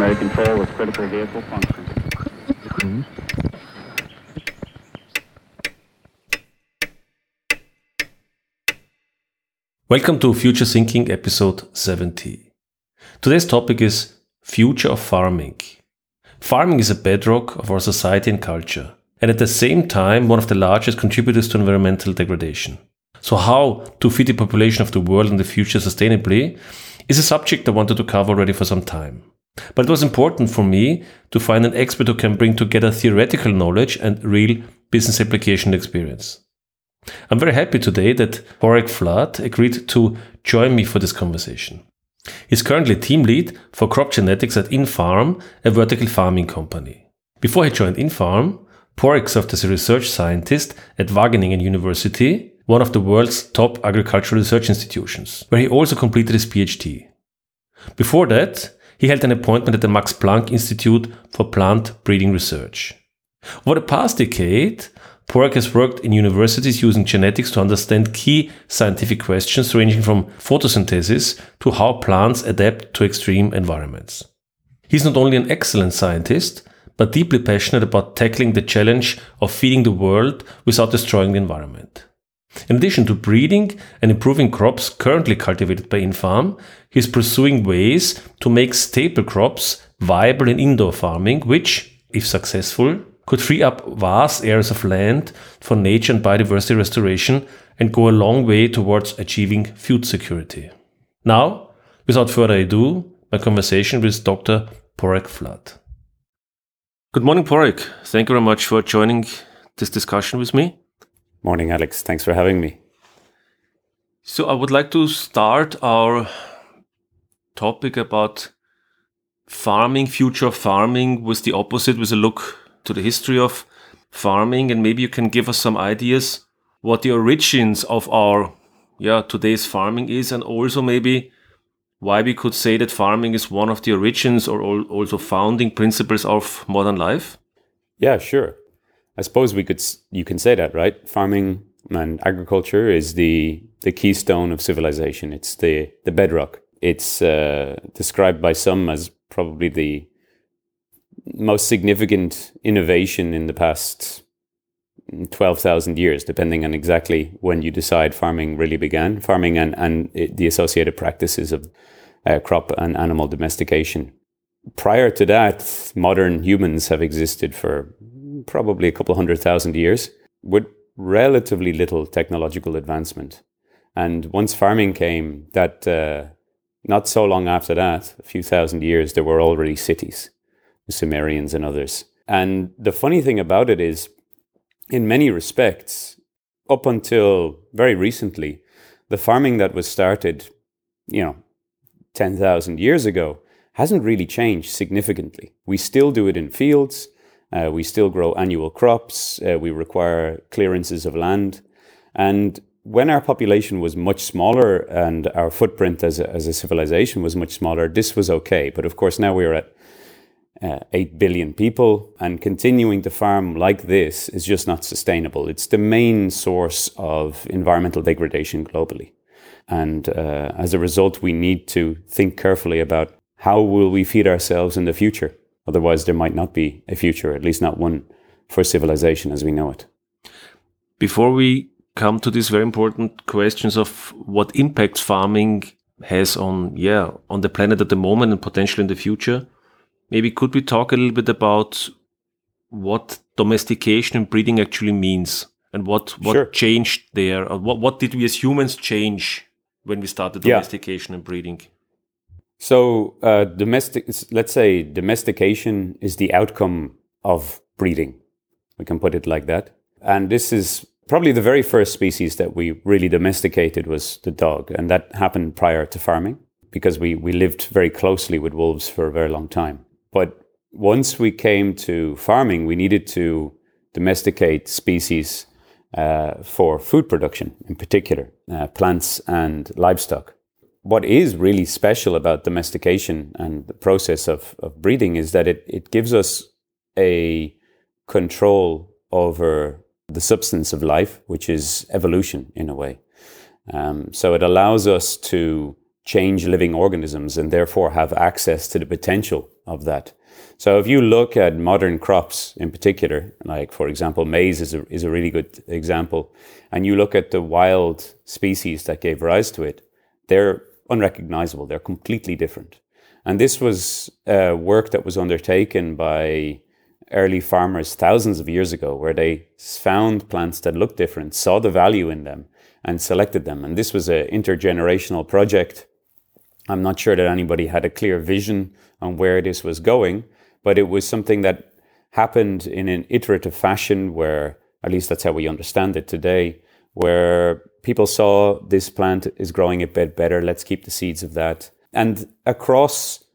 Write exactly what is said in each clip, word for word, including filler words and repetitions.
primary control with critical vehicle function. Welcome to Future Thinking episode seventy. Today's topic is Future of Farming. Farming is a bedrock of our society and culture, and at the same time one of the largest contributors to environmental degradation. So how to feed the population of the world in the future sustainably is a subject I wanted to cover already for some time. But it was important for me to find an expert who can bring together theoretical knowledge and real business application experience. I'm very happy today that Porek Flood agreed to join me for this conversation. He's currently team lead for crop genetics at Infarm, a vertical farming company. Before he joined Infarm, Porek served as a research scientist at Wageningen University, one of the world's top agricultural research institutions, where he also completed his PhD. Before that, he held an appointment at the Max Planck Institute for Plant Breeding Research. Over the past decade, Porek has worked in universities using genetics to understand key scientific questions ranging from photosynthesis to how plants adapt to extreme environments. He's not only an excellent scientist, but deeply passionate about tackling the challenge of feeding the world without destroying the environment. In addition to breeding and improving crops currently cultivated by Infarm, he is pursuing ways to make staple crops viable in indoor farming, which, if successful, could free up vast areas of land for nature and biodiversity restoration and go a long way towards achieving food security. Now, without further ado, my conversation with Doctor Porek Flood. Good morning, Porek. Thank you very much for joining this discussion with me. Morning, Alex. Thanks for having me. So I would like to start our topic about farming, future of farming, with the opposite, with a look to the history of farming, and maybe you can give us some ideas what the origins of our yeah today's farming is, and also maybe why we could say that farming is one of the origins or also founding principles of modern life. Yeah, sure. I suppose we could you can say that, right? Farming and agriculture is the the keystone of civilization. It's the the bedrock. It's uh, described by some as probably the most significant innovation in the past twelve thousand years, depending on exactly when you decide farming really began, farming and, and it, the associated practices of uh, crop and animal domestication. Prior to that, modern humans have existed for probably a couple hundred thousand years with relatively little technological advancement. And once farming came, that uh, not so long after that, a few thousand years, there were already cities. The Sumerians and others. And the funny thing about it is, in many respects, up until very recently, the farming that was started, you know, ten thousand years ago hasn't really changed significantly. We still do it in fields. Uh, we still grow annual crops. Uh, we require clearances of land. And when our population was much smaller and our footprint as a, as a civilization was much smaller, this was okay. But of course, now we're at Uh, eight billion people, and continuing to farm like this is just not sustainable. It's the main source of environmental degradation globally. And uh, as a result, we need to think carefully about how will we feed ourselves in the future. Otherwise, there might not be a future, at least not one for civilization as we know it. Before we come to these very important questions of what impacts farming has on, yeah, on the planet at the moment and potentially in the future, maybe could we talk a little bit about what domestication and breeding actually means, and what, what Sure. changed there? Or what, what did we as humans change when we started domestication yeah. and breeding? So uh, domestic, let's say domestication is the outcome of breeding. We can put it like that. And this is probably the very first species that we really domesticated was the dog. And that happened prior to farming because we, we lived very closely with wolves for a very long time. But once we came to farming, we needed to domesticate species uh, for food production, in particular, uh, plants and livestock. What is really special about domestication and the process of, of breeding is that it, it gives us a control over the substance of life, which is evolution in a way. Um, so it allows us to change living organisms and therefore have access to the potential of that. So if you look at modern crops in particular, like for example, maize is a, is a really good example, and you look at the wild species that gave rise to it, they're unrecognizable. They're completely different. And this was uh, work that was undertaken by early farmers thousands of years ago, where they found plants that looked different, saw the value in them, and selected them. And this was an intergenerational project. I'm not sure that anybody had a clear vision on where this was going, but it was something that happened in an iterative fashion where, at least that's how we understand it today, where people saw this plant is growing a bit better, let's keep the seeds of that. And across,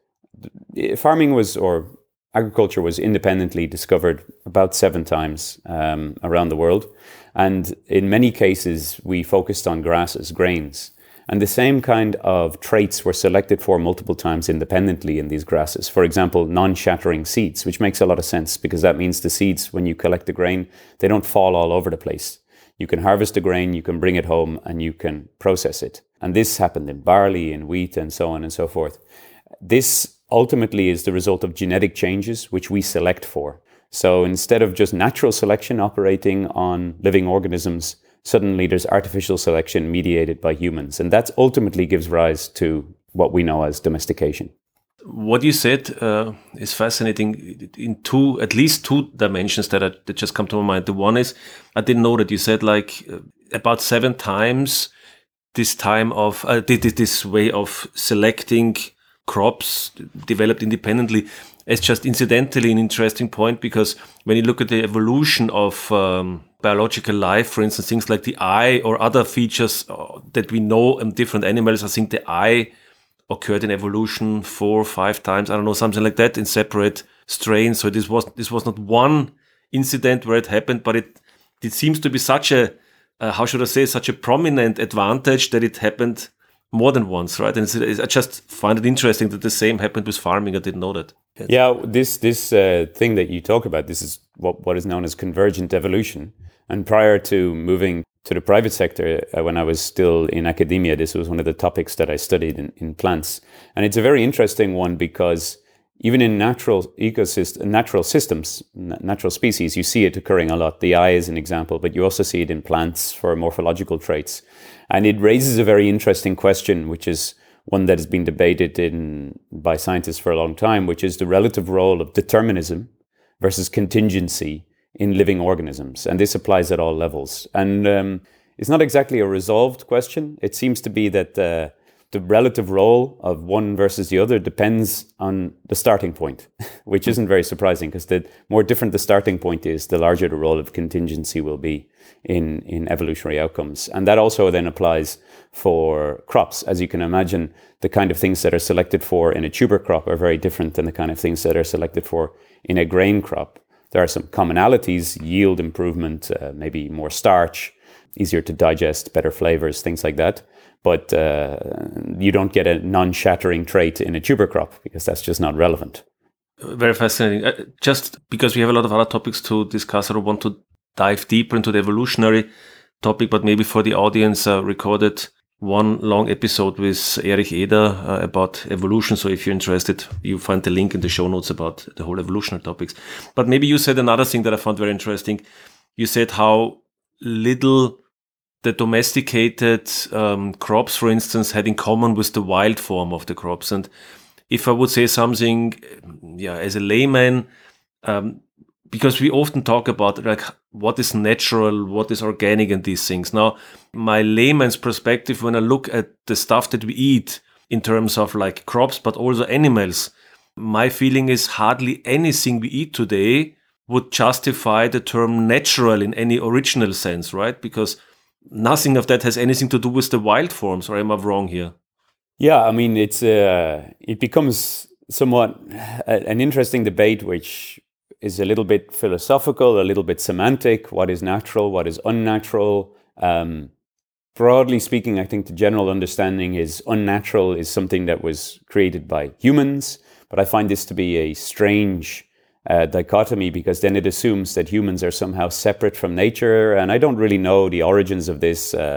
farming was, or agriculture was independently discovered about seven times um, around the world. And in many cases, we focused on grasses, grains. And the same kind of traits were selected for multiple times independently in these grasses. For example, non-shattering seeds, which makes a lot of sense because that means the seeds, when you collect the grain, they don't fall all over the place. You can harvest the grain, you can bring it home, and you can process it. And this happened in barley, in wheat, and so on and so forth. This ultimately is the result of genetic changes, which we select for. So instead of just natural selection operating on living organisms, suddenly there's artificial selection mediated by humans. And that ultimately gives rise to what we know as domestication. What you said uh, is fascinating in two, at least two dimensions that, are, that just come to my mind. The one is, I didn't know that you said like uh, about seven times this time of, uh, this way of selecting crops developed independently. It's just incidentally an interesting point, because when you look at the evolution of um, biological life, for instance, things like the eye or other features uh, that we know in different animals, I think the eye occurred in evolution four or five times, I don't know, something like that, in separate strains. So this was this was not one incident where it happened, but it it seems to be such a, uh, how should I say, such a prominent advantage that it happened more than once, right? And it's, it's, I just find it interesting that the same happened with farming. I didn't know that. Yes. Yeah, this this uh, thing that you talk about, this is what, what is known as convergent evolution. And prior to moving to the private sector, uh, when I was still in academia, this was one of the topics that I studied in, in plants. And it's a very interesting one because even in natural ecosystem, natural systems, natural species, you see it occurring a lot. The eye is an example, but you also see it in plants for morphological traits. And it raises a very interesting question, which is one that has been debated in by scientists for a long time, which is the relative role of determinism versus contingency in living organisms. And this applies at all levels. And um, it's not exactly a resolved question. It seems to be that uh, the relative role of one versus the other depends on the starting point, which isn't very surprising, because the more different the starting point is, the larger the role of contingency will be in, in evolutionary outcomes. And that also then applies for crops. As you can imagine, the kind of things that are selected for in a tuber crop are very different than the kind of things that are selected for in a grain crop. There are some commonalities: yield improvement, uh, maybe more starch, easier to digest, better flavors, things like that. But uh, you don't get a non-shattering trait in a tuber crop because that's just not relevant. Very fascinating. Uh, just because we have a lot of other topics to discuss, I don't want to dive deeper into the evolutionary topic, but maybe for the audience, uh, recorded one long episode with Erich Eder uh, about evolution. So if you're interested, you find the link in the show notes about the whole evolutionary topics. But maybe you said another thing that I found very interesting. You said how little the domesticated um, crops, for instance, had in common with the wild form of the crops. And if I would say something, yeah, as a layman, um, because we often talk about like what is natural, what is organic, and these things. Now, my layman's perspective, when I look at the stuff that we eat in terms of like crops, but also animals, my feeling is hardly anything we eat today would justify the term natural in any original sense, right? Because nothing of that has anything to do with the wild forms, or am I wrong here? Yeah, I mean, it's uh, it becomes somewhat an interesting debate, which is a little bit philosophical, a little bit semantic. What is natural? What is unnatural? Um, broadly speaking, I think the general understanding is unnatural is something that was created by humans, but I find this to be a strange Uh, dichotomy, because then it assumes that humans are somehow separate from nature, and I don't really know the origins of this. Uh,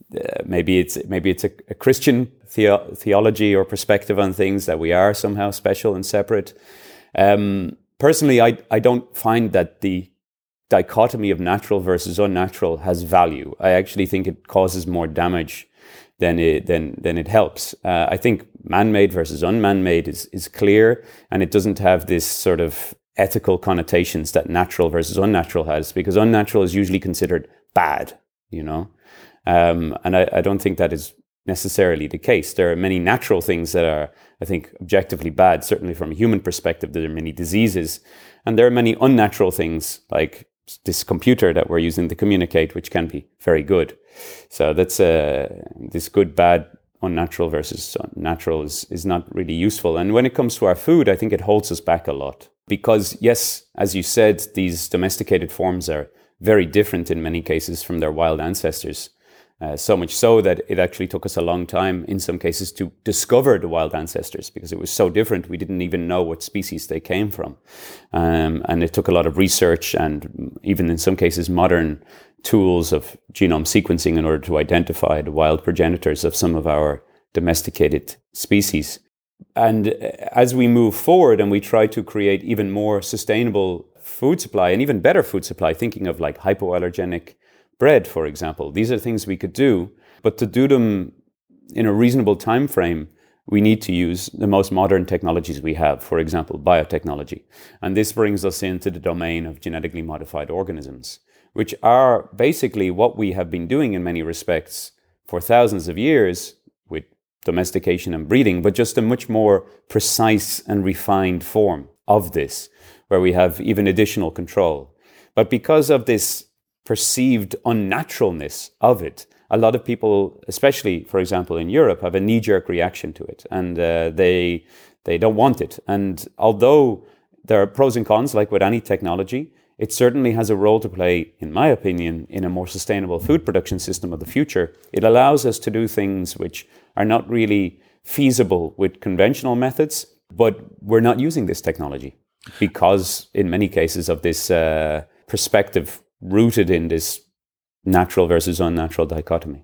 uh, maybe it's maybe it's a, a Christian theo- theology or perspective on things, that we are somehow special and separate. Um, personally, I I don't find that the dichotomy of natural versus unnatural has value. I actually think it causes more damage than it than than it helps. Uh, I think man-made versus unman-made is is clear, and it doesn't have this sort of ethical connotations that natural versus unnatural has, because unnatural is usually considered bad, you know. Um, and I, I don't think that is necessarily the case. There are many natural things that are, I think, objectively bad. Certainly from a human perspective, there are many diseases, and there are many unnatural things like this computer that we're using to communicate, which can be very good. So that's uh, this good, bad, unnatural versus natural is, is not really useful. And when it comes to our food, I think it holds us back a lot. Because yes, as you said, these domesticated forms are very different in many cases from their wild ancestors. Uh, so much so that it actually took us a long time, in some cases, to discover the wild ancestors, because it was so different. We didn't even know what species they came from. Um, and it took a lot of research and even in some cases modern tools of genome sequencing in order to identify the wild progenitors of some of our domesticated species. And as we move forward and we try to create even more sustainable food supply and even better food supply, thinking of like hypoallergenic bread, for example. These are things we could do, but to do them in a reasonable time frame, we need to use the most modern technologies we have, for example, biotechnology. And this brings us into the domain of genetically modified organisms, which are basically what we have been doing in many respects for thousands of years with domestication and breeding, but just a much more precise and refined form of this, where we have even additional control. But because of this perceived unnaturalness of it, a lot of people, especially, for example, in Europe, have a knee-jerk reaction to it, and uh, they they don't want it. And although there are pros and cons, like with any technology, it certainly has a role to play, in my opinion, in a more sustainable food production system of the future. It allows us to do things which are not really feasible with conventional methods, but we're not using this technology because, in many cases, of this uh, perspective rooted in this natural versus unnatural dichotomy.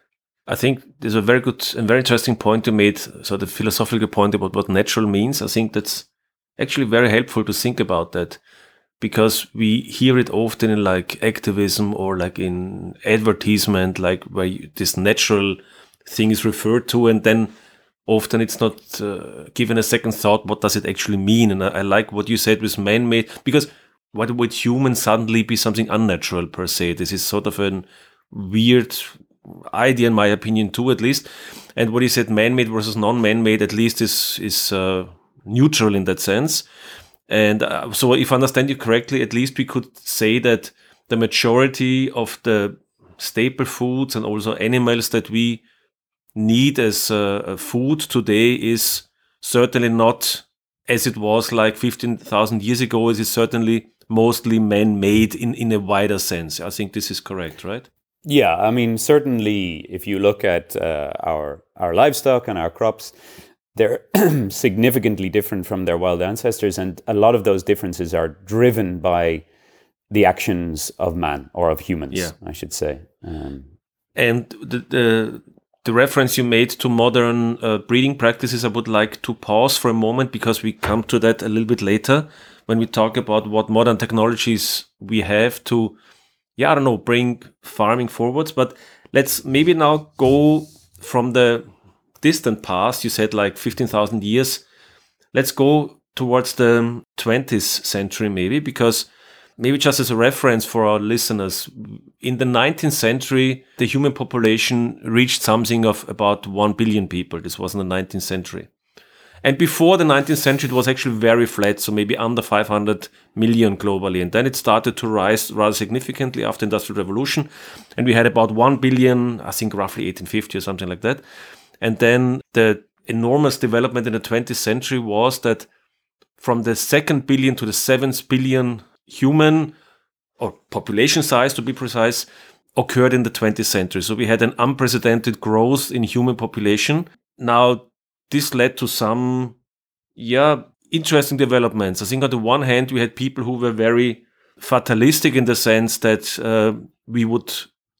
I think there's a very good and very interesting point you made, so the philosophical point about what natural means. I think that's actually very helpful to think about that, because we hear it often in like activism or like in advertisement, like where you, this natural thing is referred to, and then often it's not uh, given a second thought, what does it actually mean? And I, I like what you said with man-made, because why would human suddenly be something unnatural per se? This is sort of a weird idea, in my opinion, too, at least. And what you said, man-made versus non-man-made, at least is is uh, neutral in that sense. And uh, so if I understand you correctly, at least we could say that the majority of the staple foods and also animals that we need as uh, food today is certainly not as it was like fifteen thousand years ago. It is certainly mostly man-made in, in a wider sense. I think this is correct, right? Yeah, I mean, certainly if you look at uh, our our livestock and our crops, they're significantly different from their wild ancestors, and a lot of those differences are driven by the actions of man, or of humans, yeah. I should say. Um, and the, the the reference you made to modern uh, breeding practices, I would like to pause for a moment, because we come to that a little bit later when we talk about what modern technologies we have to, yeah, I don't know, bring farming forwards. But let's maybe now go from the distant past. You said like fifteen thousand years. Let's go towards the twentieth century maybe, because maybe just as a reference for our listeners, in the nineteenth century, the human population reached something of about one billion people. This was in the nineteenth century. And before the nineteenth century, it was actually very flat, so maybe under five hundred million globally. And then it started to rise rather significantly after the Industrial Revolution. And we had about one billion, I think roughly eighteen fifty or something like that. And then the enormous development in the twentieth century was that from the second billion to the seventh billion human, or population size to be precise, occurred in the twentieth century. So we had an unprecedented growth in human population. Now, this led to some, yeah, interesting developments. I think on the one hand, we had people who were very fatalistic in the sense that uh, we would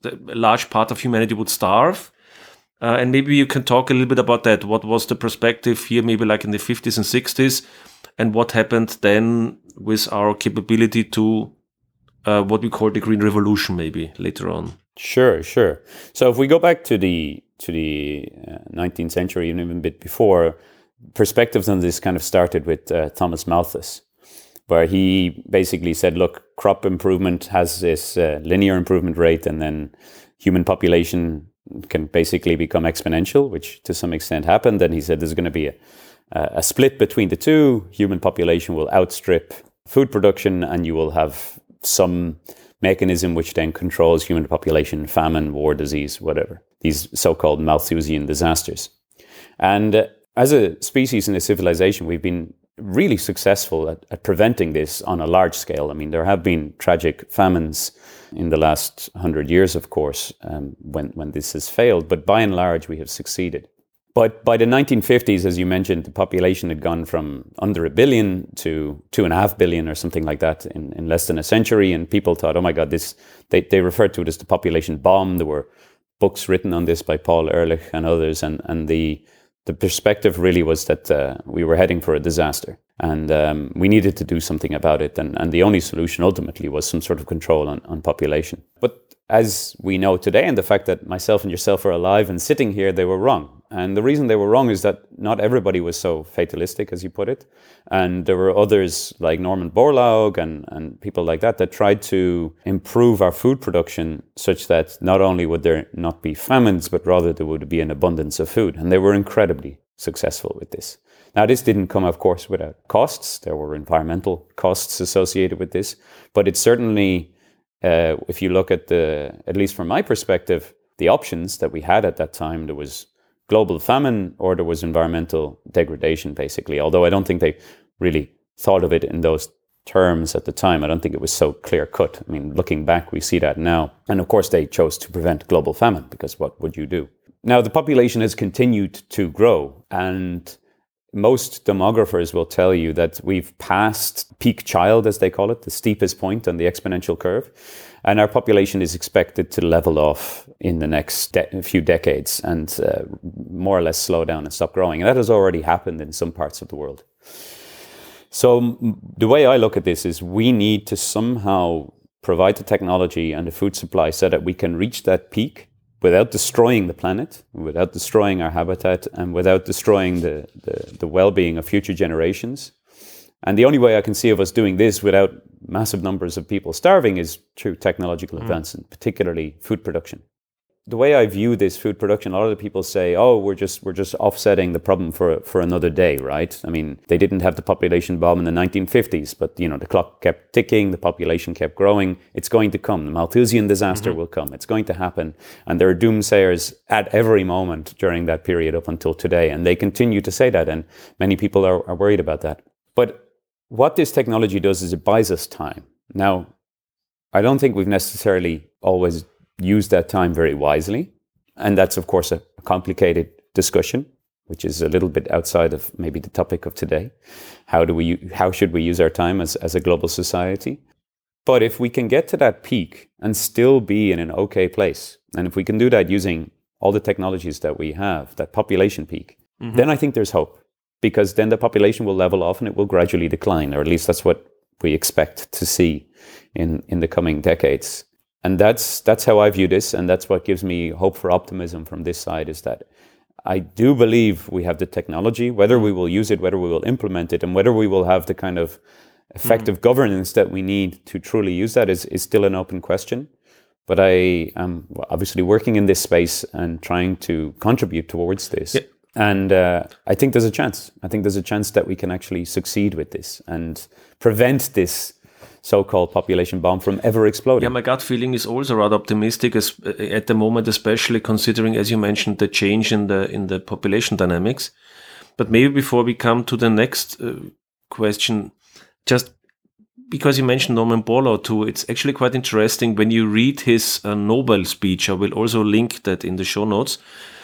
the, a large part of humanity would starve. Uh, and maybe you can talk a little bit about that. What was the perspective here, maybe like in the fifties and sixties, and what happened then with our capability to uh, what we call the Green Revolution, maybe later on. Sure, sure. So if we go back to the to the uh, nineteenth century, even a bit before, perspectives on this kind of started with uh, Thomas Malthus, where he basically said, look, crop improvement has this uh, linear improvement rate, and then human population can basically become exponential, which to some extent happened. And he said there's going to be a, a split between the two. Human population will outstrip food production, and you will have some mechanism which then controls human population, famine, war, disease, whatever, these so-called Malthusian disasters. And uh, as a species and a civilization, we've been really successful at, at preventing this on a large scale. I mean, there have been tragic famines in the last hundred years, of course, um, when, when this has failed, but by and large, we have succeeded. But by the nineteen fifties, as you mentioned, the population had gone from under a billion to two and a half billion or something like that in, in less than a century. And people thought, oh my God, this, they, they referred to it as the population bomb. There were books written on this by Paul Ehrlich and others. And, and the, the perspective really was that uh, we were heading for a disaster, and um, we needed to do something about it. And, and the only solution ultimately was some sort of control on, on population. But as we know today, and the fact that myself and yourself are alive and sitting here, they were wrong. And the reason they were wrong is that not everybody was so fatalistic, as you put it. And there were others like Norman Borlaug and, and people like that that tried to improve our food production such that not only would there not be famines, but rather there would be an abundance of food. And they were incredibly successful with this. Now, this didn't come, of course, without costs. There were environmental costs associated with this. But it certainly, uh, if you look at the, at least from my perspective, the options that we had at that time, there was global famine or there was environmental degradation, basically. Although I don't think they really thought of it in those terms at the time. I don't think it was so clear cut. I mean, looking back, we see that now. And of course, they chose to prevent global famine, because what would you do? Now, the population has continued to grow, and most demographers will tell you that we've passed peak child, as they call it, the steepest point on the exponential curve. And our population is expected to level off in the next de- few decades and uh, more or less slow down and stop growing. And that has already happened in some parts of the world. So m- the way I look at this is we need to somehow provide the technology and the food supply so that we can reach that peak without destroying the planet, without destroying our habitat, and without destroying the, the, the well-being of future generations. And the only way I can see of us doing this without massive numbers of people starving is through technological mm. advancement, particularly food production. The way I view this food production, a lot of the people say, oh, we're just we're just offsetting the problem for for another day, right? I mean, they didn't have the population bomb in the nineteen fifties, but you know, the clock kept ticking, the population kept growing. It's going to come. The Malthusian disaster mm-hmm. will come. It's going to happen. And there are doomsayers at every moment during that period up until today. And they continue to say that. And many people are, are worried about that. But what this technology does is it buys us time. Now, I don't think we've necessarily always used that time very wisely. And that's, of course, a complicated discussion, which is a little bit outside of maybe the topic of today. How do we, how should we use our time as, as a global society? But if we can get to that peak and still be in an okay place, and if we can do that using all the technologies that we have, that population peak, mm-hmm. then I think there's hope. Because then the population will level off and it will gradually decline, or at least that's what we expect to see in, in the coming decades. And that's that's how I view this, and that's what gives me hope for optimism from this side, is that I do believe we have the technology. Whether we will use it, whether we will implement it, and whether we will have the kind of effective mm. governance that we need to truly use that is, is still an open question. But I am obviously working in this space and trying to contribute towards this. Yeah. And uh, I think there's a chance. I think there's a chance that we can actually succeed with this and prevent this so-called population bomb from ever exploding. Yeah, my gut feeling is also rather optimistic as, uh, at the moment, especially considering, as you mentioned, the change in the in the population dynamics. But maybe before we come to the next uh, question, just because you mentioned Norman Borlaug too, it's actually quite interesting when you read his uh, Nobel speech. I will also link that in the show notes.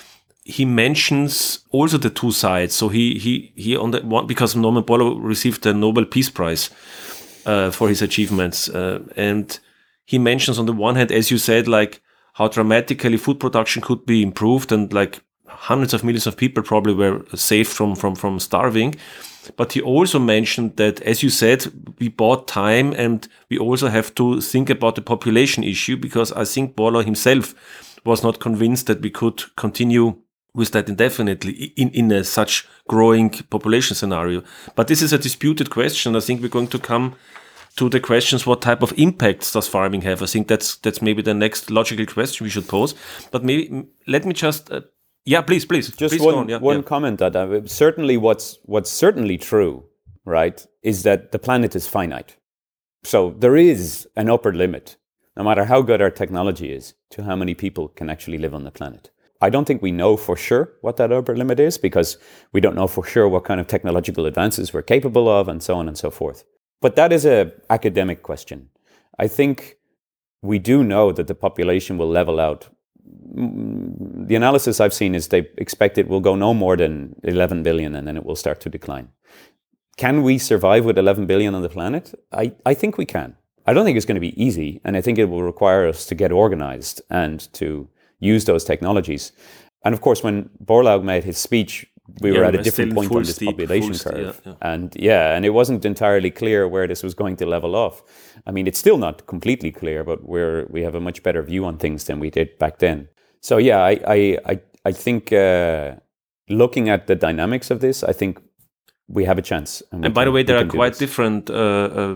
He mentions also the two sides. So he he he on the one, because Norman Borlaug received the Nobel Peace Prize uh, for his achievements, uh, and he mentions on the one hand, as you said, like how dramatically food production could be improved, and like hundreds of millions of people probably were saved from, from, from starving. But he also mentioned that, as you said, we bought time, and we also have to think about the population issue, because I think Borlaug himself was not convinced that we could continue with that indefinitely in, in a such growing population scenario. But this is a disputed question. I think we're going to come to the questions, what type of impacts does farming have? I think that's that's maybe the next logical question we should pose. But maybe let me just... Uh, yeah, please, please. Just please one, go on. Yeah, one yeah. comment that uh, certainly what's what's certainly true, right, is that the planet is finite. So there is an upper limit, no matter how good our technology is, to how many people can actually live on the planet. I don't think we know for sure what that upper limit is, because we don't know for sure what kind of technological advances we're capable of, and so on and so forth. But that is an academic question. I think we do know that the population will level out. The analysis I've seen is they expect it will go no more than eleven billion, and then it will start to decline. Can we survive with eleven billion on the planet? I, I think we can. I don't think it's going to be easy, and I think it will require us to get organized and to use those technologies. And of course, when Borlaug made his speech, we yeah, were at we a different point on this steep, population st- curve. yeah, yeah. And yeah, and it wasn't entirely clear where this was going to level off. I mean, it's still not completely clear, but we're, we have a much better view on things than we did back then. So yeah, I I, I, I think uh, looking at the dynamics of this, I think we have a chance. And, and by can, the way, there are do quite this. different uh, uh,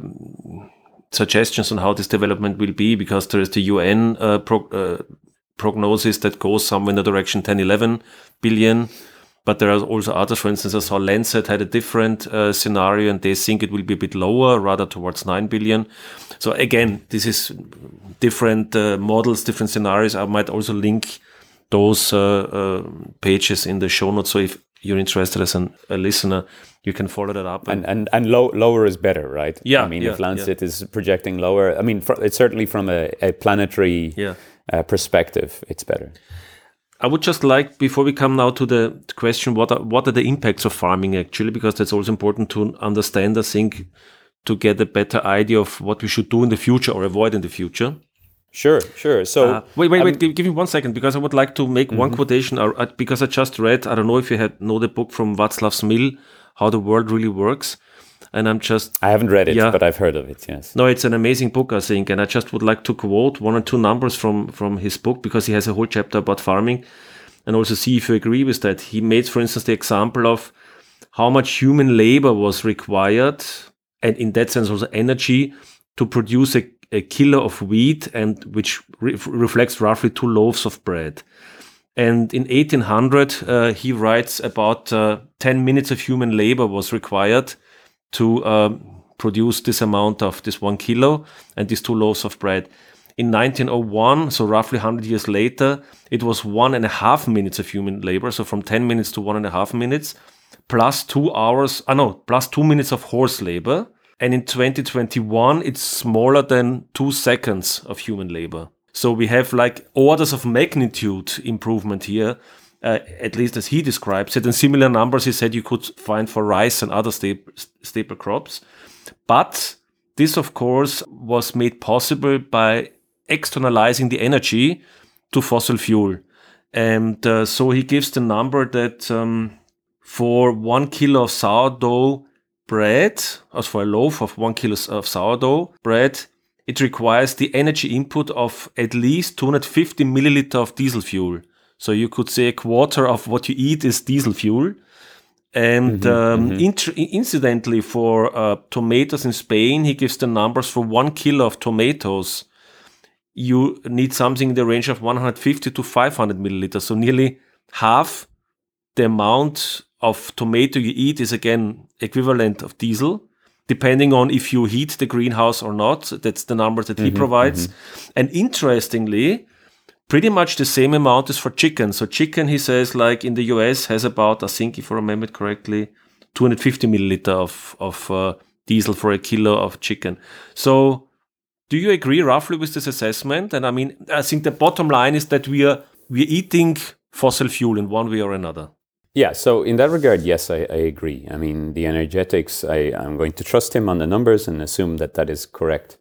suggestions on how this development will be, because there is the U N uh, pro- uh, prognosis that goes somewhere in the direction ten, eleven billion. But there are also others. For instance, I saw Lancet had a different uh, scenario, and they think it will be a bit lower, rather towards nine billion. So again, this is different uh, models, different scenarios. I might also link those uh, uh, pages in the show notes. So if you're interested as an, a listener, you can follow that up. And and, and low, lower is better, right? Yeah. I mean, yeah, if Lancet yeah. is projecting lower, I mean, fr- it's certainly from a, a planetary Yeah. uh, perspective, it's better. I would just like, before we come now to the question, what are, what are the impacts of farming actually? Because that's also important to understand, I think, to get a better idea of what we should do in the future or avoid in the future. Sure, sure. So uh, wait, wait, wait. um, Give, give me one second, because I would like to make mm-hmm. one quotation. Uh, uh, because I just read, I don't know if you had know the book from Václav Smil, How the World Really Works. And I'm just... I haven't read it, yeah. but I've heard of it, yes. No, it's an amazing book, I think. And I just would like to quote one or two numbers from, from his book, because he has a whole chapter about farming, and also see if you agree with that. He made, for instance, the example of how much human labor was required, and in that sense also energy, to produce a, a kilo of wheat, and which re- reflects roughly two loaves of bread. And in eighteen hundred, uh, he writes about uh, ten minutes of human labor was required to uh, produce this amount of this one kilo and these two loaves of bread. In nineteen oh one, so roughly one hundred years later, it was one and a half minutes of human labor. So from ten minutes to one and a half minutes, plus two hours, ah no, plus two minutes of horse labor. And in twenty twenty-one, it's smaller than two seconds of human labor. So we have like orders of magnitude improvement here, uh, at least as he describes it. And similar numbers he said you could find for rice and other staple, staple crops. But this, of course, was made possible by externalizing the energy to fossil fuel. And uh, so he gives the number that um, for one kilo of sourdough bread, as for a loaf of one kilo of sourdough bread, it requires the energy input of at least two hundred fifty milliliter of diesel fuel. So you could say a quarter of what you eat is diesel fuel. And mm-hmm, um, mm-hmm. Int- incidentally, for uh, tomatoes in Spain, he gives the numbers for one kilo of tomatoes. You need something in the range of one hundred fifty to five hundred milliliters. So nearly half the amount of tomato you eat is again equivalent of diesel, depending on if you heat the greenhouse or not. That's the number that he mm-hmm, provides. Mm-hmm. And interestingly, pretty much the same amount is for chicken. So chicken, he says, like in the U S, has about, I think, if I remember it correctly, two hundred fifty milliliter of, of uh, diesel for a kilo of chicken. So do you agree roughly with this assessment? And I mean, I think the bottom line is that we are we're eating fossil fuel in one way or another. Yeah, so in that regard, yes, I, I agree. I mean, the energetics, I, I'm going to trust him on the numbers and assume that that is correct.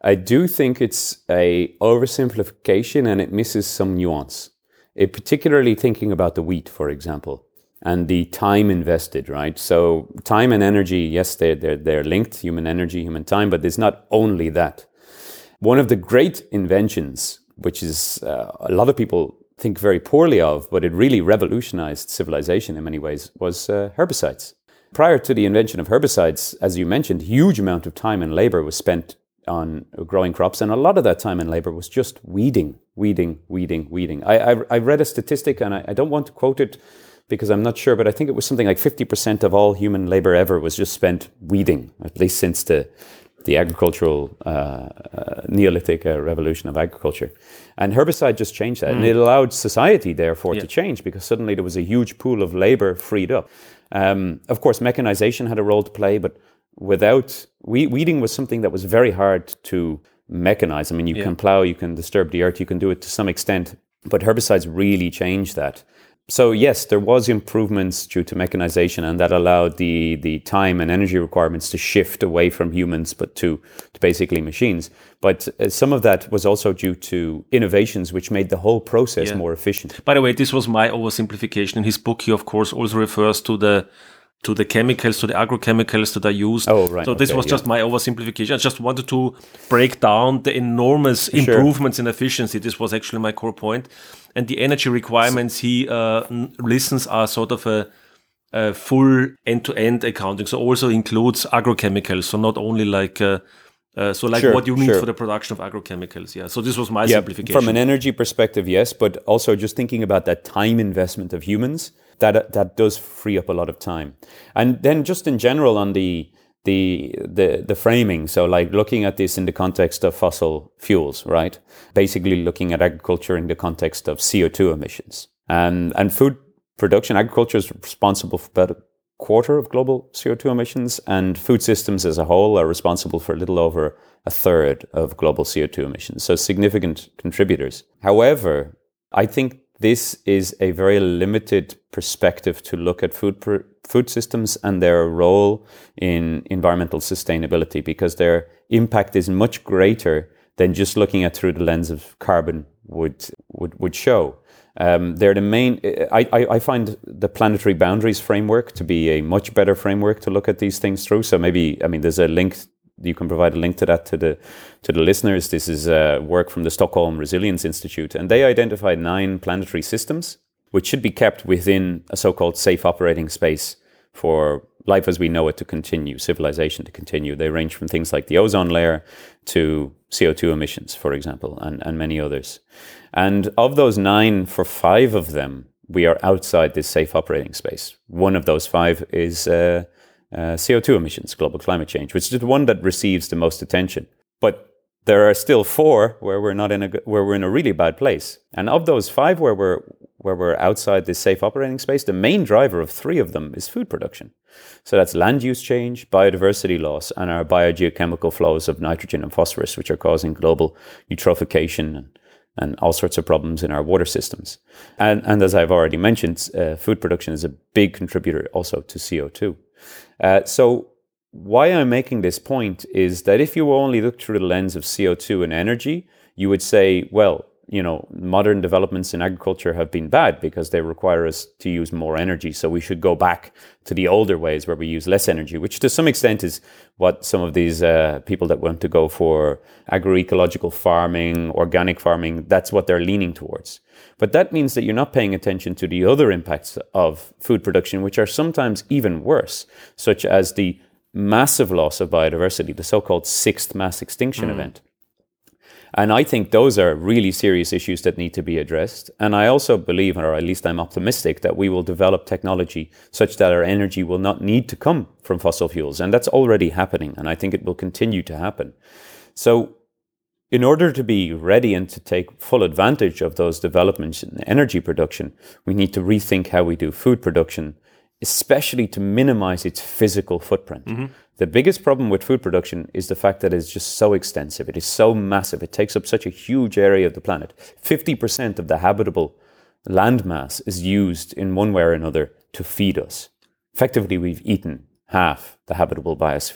I do think it's a oversimplification and it misses some nuance. It, particularly thinking about the wheat, for example, and the time invested, right? So time and energy, yes, they're, they're, they're linked, human energy, human time, but it's not only that. One of the great inventions, which is uh, a lot of people think very poorly of, but it really revolutionized civilization in many ways, was uh, herbicides. Prior to the invention of herbicides, as you mentioned, huge amount of time and labor was spent on growing crops, and a lot of that time and labor was just weeding, weeding, weeding, weeding. I, I, I read a statistic, and I, I don't want to quote it because I'm not sure, but I think it was something like fifty percent of all human labor ever was just spent weeding, at least since the the agricultural uh, uh, Neolithic uh, revolution of agriculture. And herbicide just changed that. Mm. And it allowed society, therefore, yeah. to change because suddenly there was a huge pool of labor freed up. Um, of course, mechanization had a role to play, but without... We, weeding was something that was very hard to mechanize. I mean, you yeah. can plow, you can disturb the earth, you can do it to some extent, but herbicides really changed that. So yes, there was improvements due to mechanization, and that allowed the the time and energy requirements to shift away from humans, but to, to basically machines. But uh, some of that was also due to innovations which made the whole process yeah. more efficient. By the way, this was my oversimplification. In his book, he of course also refers to the to the chemicals, to the agrochemicals that are used. Oh, right. So this okay, was yeah. just my oversimplification. I just wanted to break down the enormous sure. improvements in efficiency. This was actually my core point. And the energy requirements he uh, listens are sort of a, a full end-to-end accounting. So also includes agrochemicals. So not only like... Uh, Uh, so like sure, what you need sure. for the production of agrochemicals. Yeah. So this was my yeah, simplification. From an energy perspective, yes, but also just thinking about that time investment of humans, that that does free up a lot of time. And then just in general on the the the the framing, so like looking at this in the context of fossil fuels, right? Basically looking at agriculture in the context of C O two emissions. And and food production, agriculture is responsible for about a quarter of global C O two emissions, and food systems as a whole are responsible for a little over a third of global C O two emissions. So significant contributors. However, I think this is a very limited perspective to look at food pr- food systems and their role in environmental sustainability, because their impact is much greater than just looking at through the lens of carbon would would, would show. Um, they're the main. I, I, I find the planetary boundaries framework to be a much better framework to look at these things through. So maybe, I mean, there's a link. You can provide a link to that to the to the listeners. This is uh, work from the Stockholm Resilience Institute, and they identified nine planetary systems which should be kept within a so-called safe operating space for life as we know it to continue, civilization to continue. They range from things like the ozone layer to C O two emissions, for example, and, and many others. And of those nine, for five of them, we are outside this safe operating space. One of those five is uh, uh, C O two emissions, global climate change, which is the one that receives the most attention. But there are still four where we're not in a where we're in a really bad place. And of those five where we're where we're outside this safe operating space, the main driver of three of them is food production. So that's land use change, biodiversity loss, and our biogeochemical flows of nitrogen and phosphorus, which are causing global eutrophication and, and all sorts of problems in our water systems. And, and as I've already mentioned, uh, food production is a big contributor also to C O two. Uh, so why I'm making this point is that if you only look through the lens of C O two and energy, you would say, well, you know, modern developments in agriculture have been bad because they require us to use more energy. So we should go back to the older ways where we use less energy, which to some extent is what some of these uh, people that want to go for agroecological farming, organic farming, that's what they're leaning towards. But that means that you're not paying attention to the other impacts of food production, which are sometimes even worse, such as the massive loss of biodiversity, the so-called sixth mass extinction mm. event. And I think those are really serious issues that need to be addressed. And I also believe, or at least I'm optimistic, that we will develop technology such that our energy will not need to come from fossil fuels. And that's already happening. And I think it will continue to happen. So in order to be ready and to take full advantage of those developments in energy production, we need to rethink how we do food production, especially to minimize its physical footprint. Mm-hmm. The biggest problem with food production is the fact that it's just so extensive. It is so massive. It takes up such a huge area of the planet. fifty percent of the habitable land mass is used in one way or another to feed us. Effectively, we've eaten half the habitable biosphere.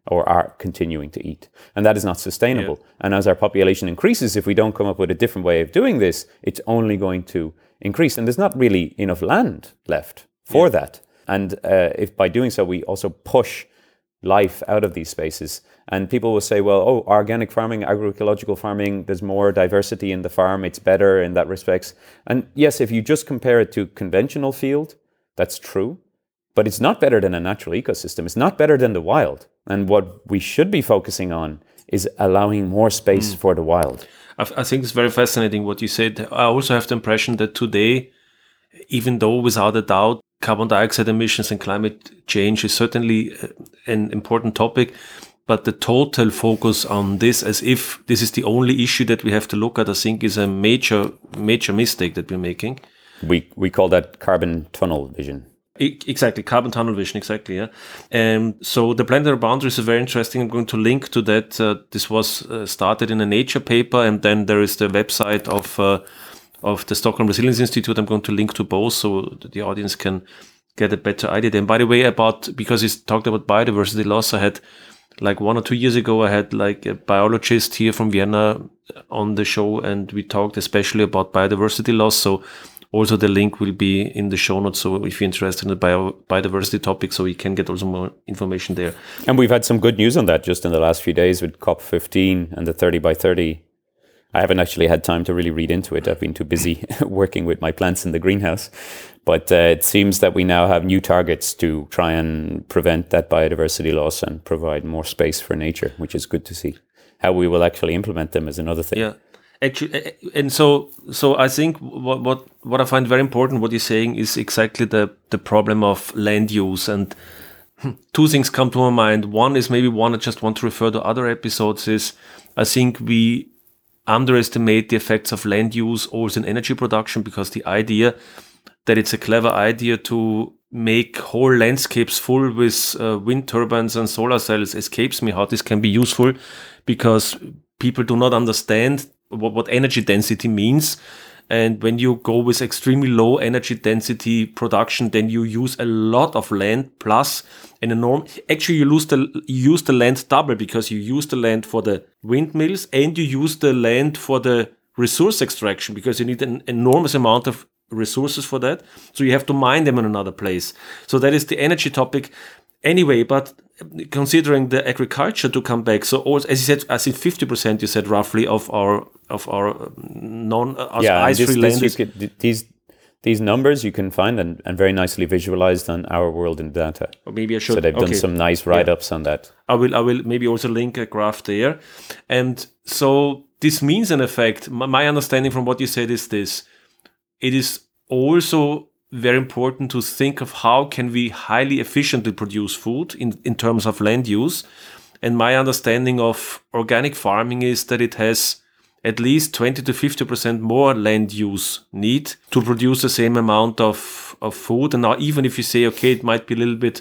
or are continuing to eat. And that is not sustainable. Yeah. And as our population increases, if we don't come up with a different way of doing this, it's only going to increase. And there's not really enough land left for yeah. that. And uh, if by doing so, we also push life out of these spaces. And people will say, well, oh, organic farming, agroecological farming, there's more diversity in the farm, it's better in that respects. And yes, if you just compare it to conventional field, that's true. But it's not better than a natural ecosystem. It's not better than the wild. And what we should be focusing on is allowing more space mm. for the wild. I, I think it's very fascinating what you said. I also have the impression that today, even though without a doubt, carbon dioxide emissions and climate change is certainly an important topic, but the total focus on this as if this is the only issue that we have to look at, I think is a major, major mistake that we're making. We we call that carbon tunnel vision. Exactly, carbon tunnel vision, exactly, yeah. Um, so the planetary boundaries is very interesting. I'm going to link to that. Uh, this was uh, started in a Nature paper, and then there is the website of uh, of the Stockholm Resilience Institute. I'm going to link to both so the audience can get a better idea. Then, by the way, about, because he's talked about biodiversity loss, I had like one or two years ago, I had like a biologist here from Vienna on the show, and we talked especially about biodiversity loss. So also the link will be in the show notes. So if you're interested in the bio, biodiversity topic, so you can get also more information there. And we've had some good news on that just in the last few days with COP fifteen and the thirty by thirty. I haven't actually had time to really read into it. I've been too busy working with my plants in the greenhouse. But uh, it seems that we now have new targets to try and prevent that biodiversity loss and provide more space for nature, which is good to see. How we will actually implement them is another thing. Yeah, actually, and so so I think what what what I find very important, what you're saying, is exactly the the problem of land use. And two things come to my mind. One is maybe one I just want to refer to other episodes is I think we underestimate the effects of land use also in energy production, because the idea that it's a clever idea to make whole landscapes full with uh, wind turbines and solar cells escapes me how this can be useful, because people do not understand what, what energy density means. And when you go with extremely low energy density production, then you use a lot of land plus an enormous, actually you lose the, you use the land double, because you use the land for the windmills and you use the land for the resource extraction, because you need an enormous amount of resources for that. So you have to mine them in another place. So that is the energy topic. Anyway, but considering the agriculture to come back, so also, as you said, I think fifty percent you said roughly of our of our non uh, yeah, ice-free land. This, this, these these numbers you can find and, and very nicely visualized on Our World in Data. Or maybe I should. So they've okay. done some nice write-ups yeah. on that. I will I will maybe also link a graph there. And so this means, in effect, my, my understanding from what you said is this: it is also very important to think of how can we highly efficiently produce food in, in terms of land use. And my understanding of organic farming is that it has at least twenty to fifty percent more land use need to produce the same amount of, of food. And now even if you say, okay, it might be a little bit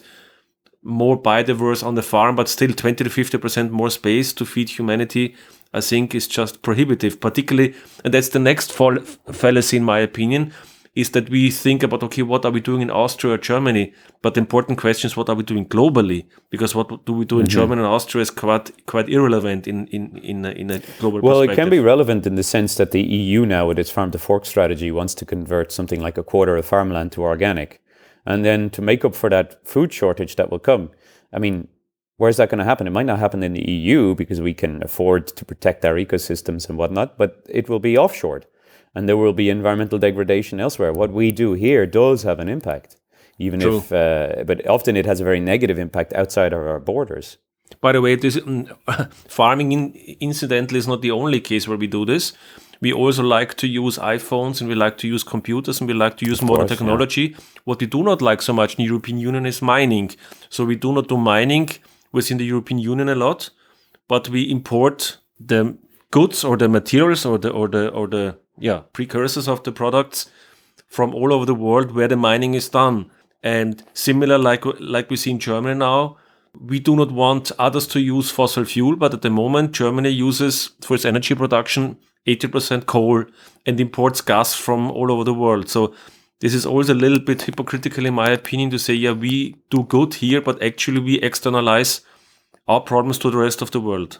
more biodiverse on the farm, but still twenty to fifty percent more space to feed humanity, I think is just prohibitive, particularly, and that's the next fall, fallacy in my opinion, is that we think about, okay, what are we doing in Austria or Germany? But the important question is, what are we doing globally? Because what do we do in mm-hmm. Germany and Austria is quite quite irrelevant in in in a, in a global well, perspective. It can be relevant in the sense that the E U now, with its farm to fork strategy, wants to convert something like a quarter of farmland to organic. And then to make up for that food shortage that will come, I mean, where's that going to happen? It might not happen in the E U because we can afford to protect our ecosystems and whatnot, but it will be offshored. And there will be environmental degradation elsewhere. What we do here does have an impact, even True. if, uh, but often it has a very negative impact outside of our borders. By the way, this um, farming, in, incidentally, is not the only case where we do this. We also like to use iPhones, and we like to use computers, and we like to use of modern course, technology. Yeah. What we do not like so much in the European Union is mining. So we do not do mining within the European Union a lot, but we import the goods or the materials or the or the or the yeah precursors of the products from all over the world where the mining is done. And similar, like like we see in Germany now, we do not want others to use fossil fuel, but at the moment Germany uses for its energy production eighty percent coal and imports gas from all over the world. So this is also a little bit hypocritical in my opinion to say, yeah, we do good here, but actually we externalize our problems to the rest of the world.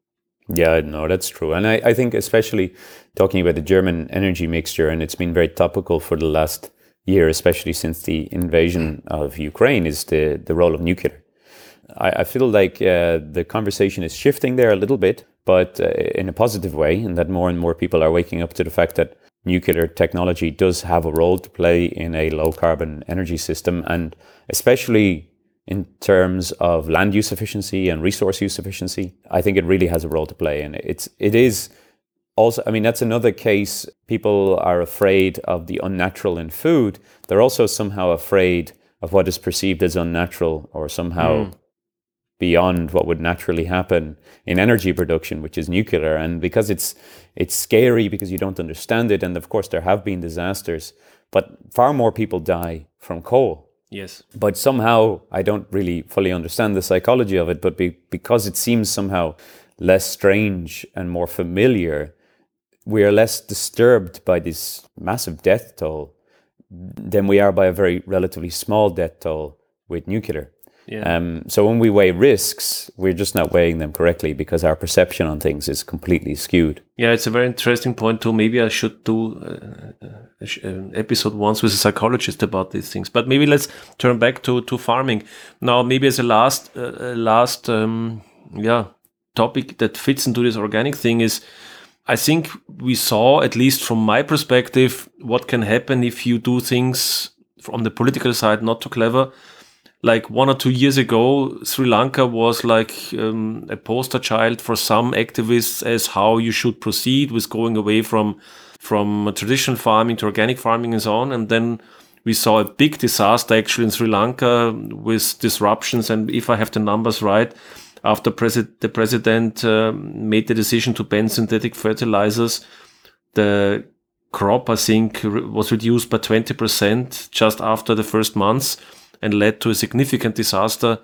Yeah, no, that's true. And I, I think especially talking about the German energy mixture, and it's been very topical for the last year, especially since the invasion of Ukraine, is the, the role of nuclear. I, I feel like uh, the conversation is shifting there a little bit, but uh, in a positive way, and that more and more people are waking up to the fact that nuclear technology does have a role to play in a low carbon energy system, and especially in terms of land use efficiency and resource use efficiency, I think it really has a role to play. And it's, it is also, I mean, that's another case. People are afraid of the unnatural in food. They're also somehow afraid of what is perceived as unnatural or somehow mm. beyond what would naturally happen in energy production, which is nuclear. And because it's, it's scary because you don't understand it. And of course, there have been disasters, but far more people die from coal. Yes. But somehow, I don't really fully understand the psychology of it, but be, because it seems somehow less strange and more familiar, we are less disturbed by this massive death toll than we are by a very relatively small death toll with nuclear. Yeah. Um, so when we weigh risks, we're just not weighing them correctly because our perception on things is completely skewed. Yeah, it's a very interesting point too. Maybe I should do uh, an episode once with a psychologist about these things. But maybe let's turn back to, to farming. Now, maybe as a last, uh, last um, yeah, topic that fits into this organic thing is, I think we saw, at least from my perspective, what can happen if you do things from the political side not too clever. Like one or two years ago, Sri Lanka was like um, a poster child for some activists as how you should proceed with going away from from traditional farming to organic farming and so on. And then we saw a big disaster actually in Sri Lanka with disruptions. And if I have the numbers right, after presi- the president uh, made the decision to ban synthetic fertilizers, the crop, I think, re- was reduced by twenty percent just after the first months, and led to a significant disaster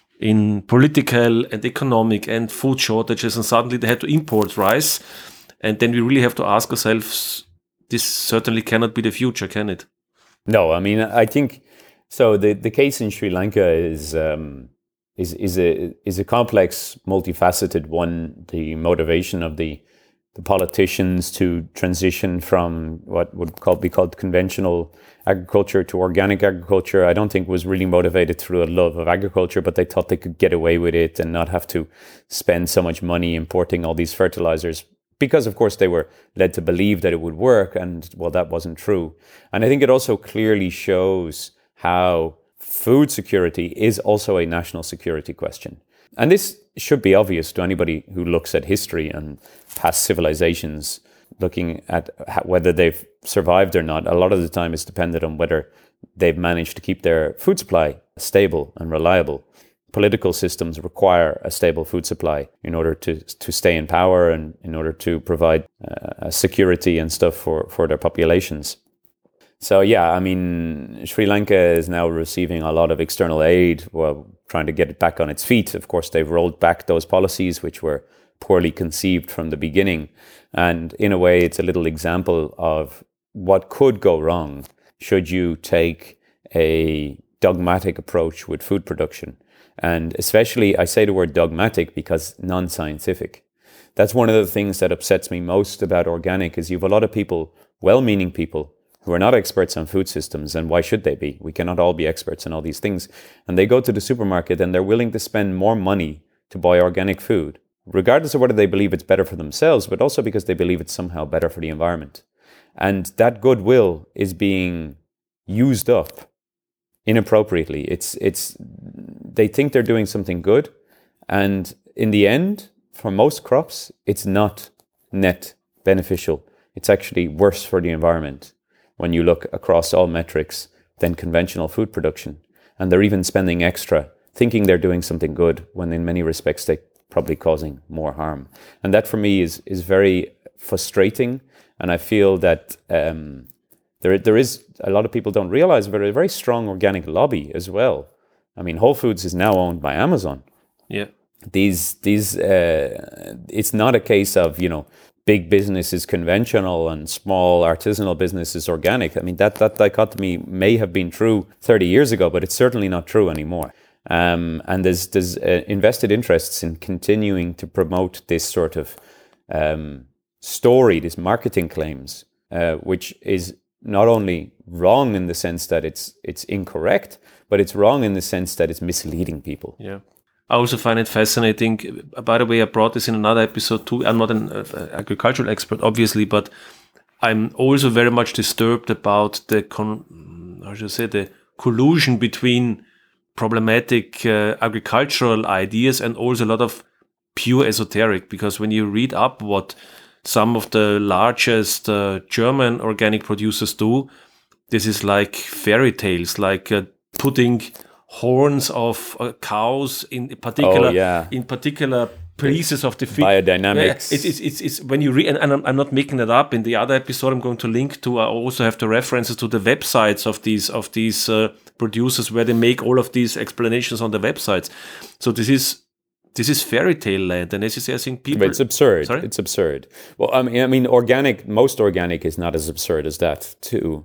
in political and economic and food shortages. And suddenly they had to import rice. And then we really have to ask ourselves, this certainly cannot be the future, can it? No, I mean, I think, so the, the case in Sri Lanka is, um, is, is, a, is a complex, multifaceted one. The motivation of the the politicians to transition from what would call, be called conventional agriculture to organic agriculture, I don't think was really motivated through a love of agriculture, but they thought they could get away with it and not have to spend so much money importing all these fertilizers because, of course, they were led to believe that it would work. And, well, that wasn't true. And I think it also clearly shows how food security is also a national security question. And this should be obvious to anybody who looks at history and past civilizations, looking at whether they've survived or not. A lot of the time it's dependent on whether they've managed to keep their food supply stable and reliable. Political systems require a stable food supply in order to, to stay in power and in order to provide uh, security and stuff for, for their populations. So, yeah, I mean, Sri Lanka is now receiving a lot of external aid, well, trying to get it back on its feet. Of course, they've rolled back those policies which were poorly conceived from the beginning. And in a way, it's a little example of what could go wrong should you take a dogmatic approach with food production. And especially, I say the word dogmatic because non-scientific. That's one of the things that upsets me most about organic is you have a lot of people, well-meaning people, who are not experts on food systems, and why should they be? We cannot all be experts on all these things. And they go to the supermarket and they're willing to spend more money to buy organic food, regardless of whether they believe it's better for themselves, but also because they believe it's somehow better for the environment. And that goodwill is being used up inappropriately. It's, it's, they think they're doing something good. And in the end, for most crops, it's not net beneficial. It's actually worse for the environment when you look across all metrics than conventional food production. And they're even spending extra, thinking they're doing something good, when in many respects they're probably causing more harm. And that for me is is very frustrating. And I feel that um, there there is, a lot of people don't realize, but a very strong organic lobby as well. I mean, Whole Foods is now owned by Amazon. Yeah. These, these, uh, it's not a case of, you know, big business is conventional and small artisanal business is organic. I mean, that, that dichotomy may have been true thirty years ago, but it's certainly not true anymore. Um, and there's there's uh, invested interests in continuing to promote this sort of um, story, this marketing claims, uh, which is not only wrong in the sense that it's it's incorrect, but it's wrong in the sense that it's misleading people. Yeah. I also find it fascinating. By the way, I brought this in another episode too. I'm not an uh, agricultural expert, obviously, but I'm also very much disturbed about the con- how should I say the collusion between problematic uh, agricultural ideas and also a lot of pure esoteric. Because when you read up what some of the largest uh, German organic producers do, this is like fairy tales, like uh, putting horns of uh, cows in particular, oh, yeah. in particular pieces of the feed. Biodynamics. Yeah, it's, it's, it's, it's when you read, and, and I'm, I'm not making that up. In the other episode, I'm going to link to. I also have the references to the websites of these of these uh, producers where they make all of these explanations on the websites. So this is this is fairy tale land, and as you say, I think people. But it's absurd. Sorry? It's absurd. Well, I mean, I mean, organic. Most organic is not as absurd as that. To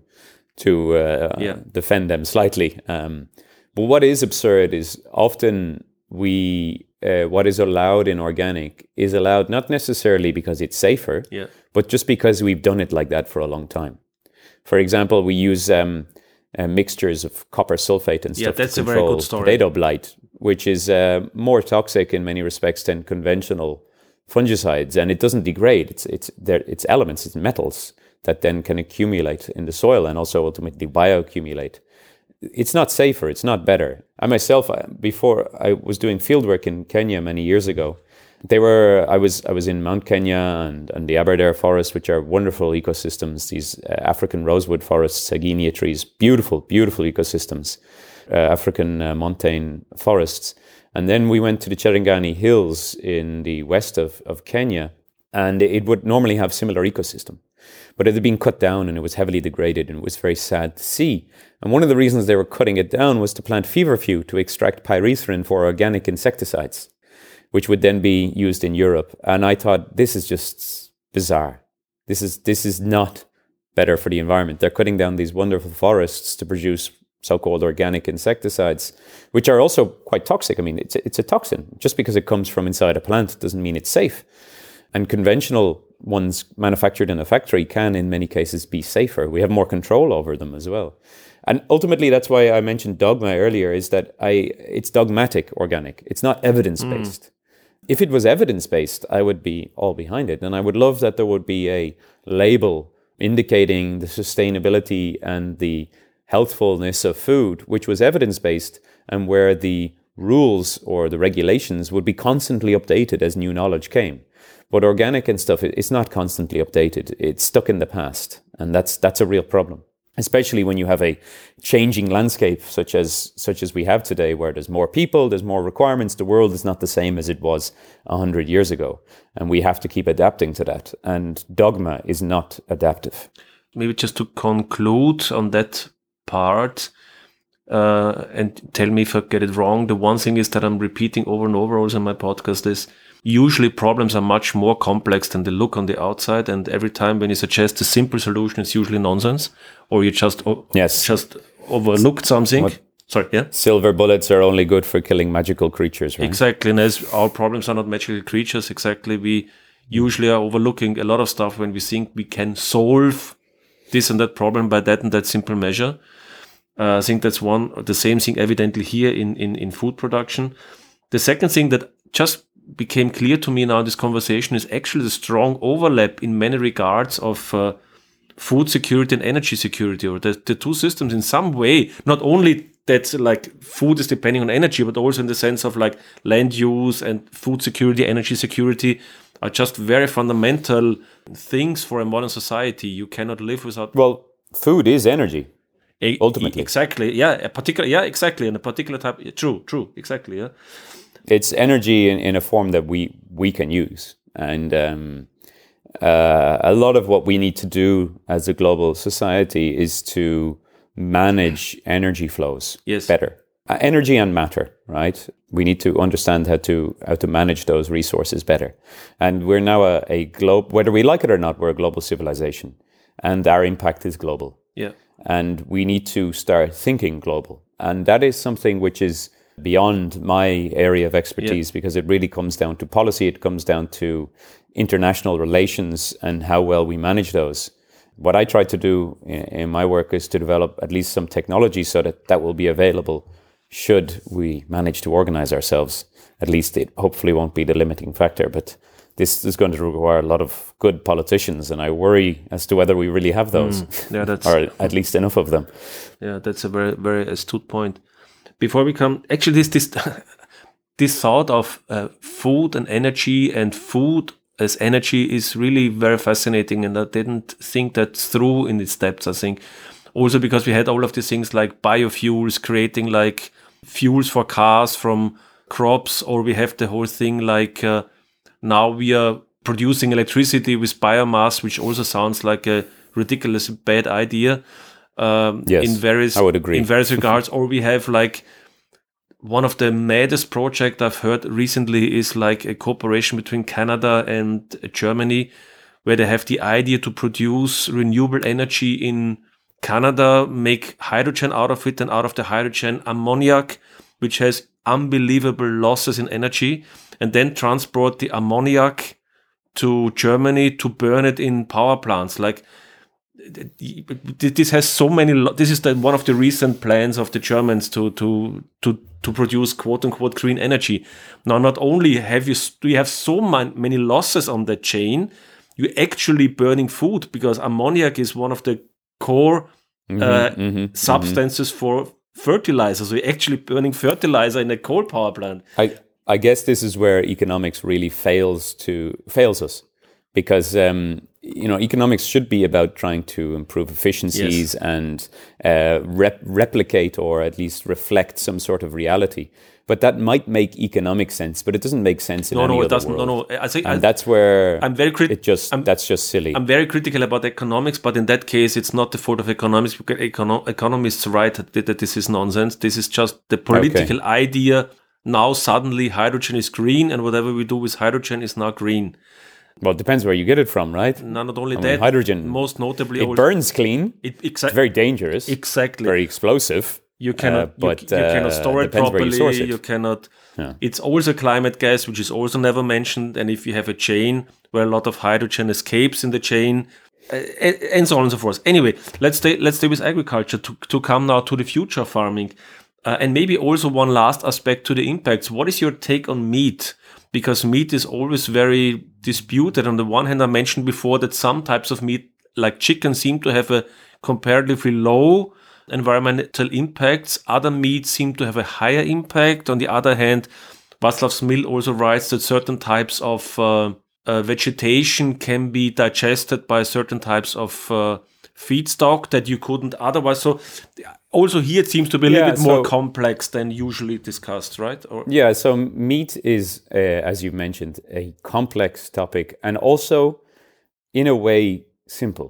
to uh, Yeah. defend them slightly. Um, but what is absurd is often we. Uh, what is allowed in organic is allowed not necessarily because it's safer, Yeah. but just because we've done it like that for a long time. For example, we use um, uh, mixtures of copper sulfate and Yeah, stuff that's to a very control good story. potato blight, which is uh, more toxic in many respects than conventional fungicides, and it doesn't degrade. It's it's there. It's elements, it's metals that then can accumulate in the soil and also ultimately bioaccumulate. It's not safer. It's not better. I myself, before I was doing fieldwork in Kenya many years ago, they were. I was. I was in Mount Kenya and, and the Aberdare Forest, which are wonderful ecosystems. These uh, African rosewood forests, Saginia trees, beautiful, beautiful ecosystems. Uh, African uh, montane forests, and then we went to the Cherangani Hills in the west of of Kenya, and it would normally have similar ecosystem. But it had been cut down and it was heavily degraded, and it was very sad to see. And one of the reasons they were cutting it down was to plant feverfew to extract pyrethrin for organic insecticides, which would then be used in Europe. And I thought, this is just bizarre. This is this is not better for the environment. They're cutting down these wonderful forests to produce so-called organic insecticides, which are also quite toxic. I mean, it's a, it's a toxin. Just because it comes from inside a plant doesn't mean it's safe. And conventional ones manufactured in a factory can, in many cases, be safer. We have more control over them as well. And ultimately, that's why I mentioned dogma earlier, is that I it's dogmatic organic. It's not evidence-based. Mm. If it was evidence-based, I would be all behind it. And I would love that there would be a label indicating the sustainability and the healthfulness of food, which was evidence-based, and where the rules or the regulations would be constantly updated as new knowledge came. But organic and stuff, it's not constantly updated. It's stuck in the past. And that's that's a real problem, especially when you have a changing landscape such as such as we have today, where there's more people, there's more requirements. The world is not the same as it was one hundred years ago. And we have to keep adapting to that. And dogma is not adaptive. Maybe just to conclude on that part, uh, and tell me if I get it wrong, the one thing is that I'm repeating over and over also in my podcast is, usually problems are much more complex than they look on the outside, and every time when you suggest a simple solution, it's usually nonsense, or you just o- yes. just overlooked something. What? Sorry, yeah? Silver bullets are only good for killing magical creatures, right? Exactly, and as our problems are not magical creatures, exactly, we usually are overlooking a lot of stuff when we think we can solve this and that problem by that and that simple measure. Uh, I think that's one, the same thing evidently here in, in, in food production. The second thing that just became clear to me now in this conversation is actually the strong overlap in many regards of uh, food security and energy security, or the, the two systems in some way, not only that like food is depending on energy, but also in the sense of like land use and food security, energy security are just very fundamental things for a modern society. You cannot live without... Well, food is energy, a, ultimately. Exactly, yeah, a particular, yeah, exactly, and a particular type, true, true, exactly, yeah. It's energy in, in a form that we, we can use. And um, uh, a lot of what we need to do as a global society is to manage energy flows yes. better. Uh, energy and matter, right? We need to understand how to how to manage those resources better. And we're now a, a globe, whether we like it or not, we're a global civilization. And our impact is global. Yeah. And we need to start thinking global. And that is something which is beyond my area of expertise yeah. because it really comes down to policy. It comes down to international relations and how well we manage those. What I try to do in, in my work is to develop at least some technology so that that will be available should we manage to organize ourselves. At least it hopefully won't be the limiting factor, but this is going to require a lot of good politicians, and I worry as to whether we really have those, mm, yeah, that's, or at least enough of them. Yeah, that's a very, very astute point. Before we come, actually, this this this thought of uh, food and energy and food as energy is really very fascinating, and I didn't think that through in its depths. I think also because we had all of these things like biofuels, creating like fuels for cars from crops, or we have the whole thing like. Uh, Now we are producing electricity with biomass, which also sounds like a ridiculous bad idea. Um, yes, in various, I would agree. In various regards, or we have like one of the maddest project I've heard recently is like a cooperation between Canada and Germany, where they have the idea to produce renewable energy in Canada, make hydrogen out of it, and out of the hydrogen ammoniac, which has unbelievable losses in energy, and then transport the ammoniac to Germany to burn it in power plants. Like this has so many. Lo- this is the, one of the recent plans of the Germans to to to to produce quote unquote green energy. Now, not only have you do you have so man, many losses on the chain, you're actually burning food because ammoniac is one of the core mm-hmm, uh, mm-hmm, substances mm-hmm. for fertilizer. So you're actually burning fertilizer in a coal power plant. I I guess this is where economics really fails to fails us, because um, you know economics should be about trying to improve efficiencies yes. and uh, rep- replicate or at least reflect some sort of reality. But that might make economic sense, but it doesn't make sense in no, any no, other it doesn't. world. No, no. I think and I, that's where I'm very crit- it just I'm, that's just silly. I'm very critical about economics, but in that case, it's not the fault of economics. Because econo- economists write that, that this is nonsense. This is just the political okay. idea. Now suddenly hydrogen is green, and whatever we do with hydrogen is now green. Well, it depends where you get it from, right? No, not only I that. mean, hydrogen, most notably, it burns clean. It, exa- it's very dangerous. Exactly. Very explosive. You cannot, uh, but, you, you uh, cannot store it properly. You, source it. you cannot. Yeah. It's also climate gas, which is also never mentioned. And if you have a chain where a lot of hydrogen escapes in the chain, uh, and so on and so forth. Anyway, let's stay. Let's stay with agriculture to to come now to the future of farming, uh, and maybe also one last aspect to the impacts. What is your take on meat? Because meat is always very disputed. On the one hand, I mentioned before that some types of meat, like chicken, seem to have a comparatively low environmental impacts. Other meats seem to have a higher impact. On the other hand, Václav Smil also writes that certain types of uh, uh, vegetation can be digested by certain types of uh, feedstock that you couldn't otherwise. So also here it seems to be a yeah, little bit so, more complex than usually discussed, right? Or, yeah, so meat is, uh, as you mentioned, a complex topic and also, in a way, simple.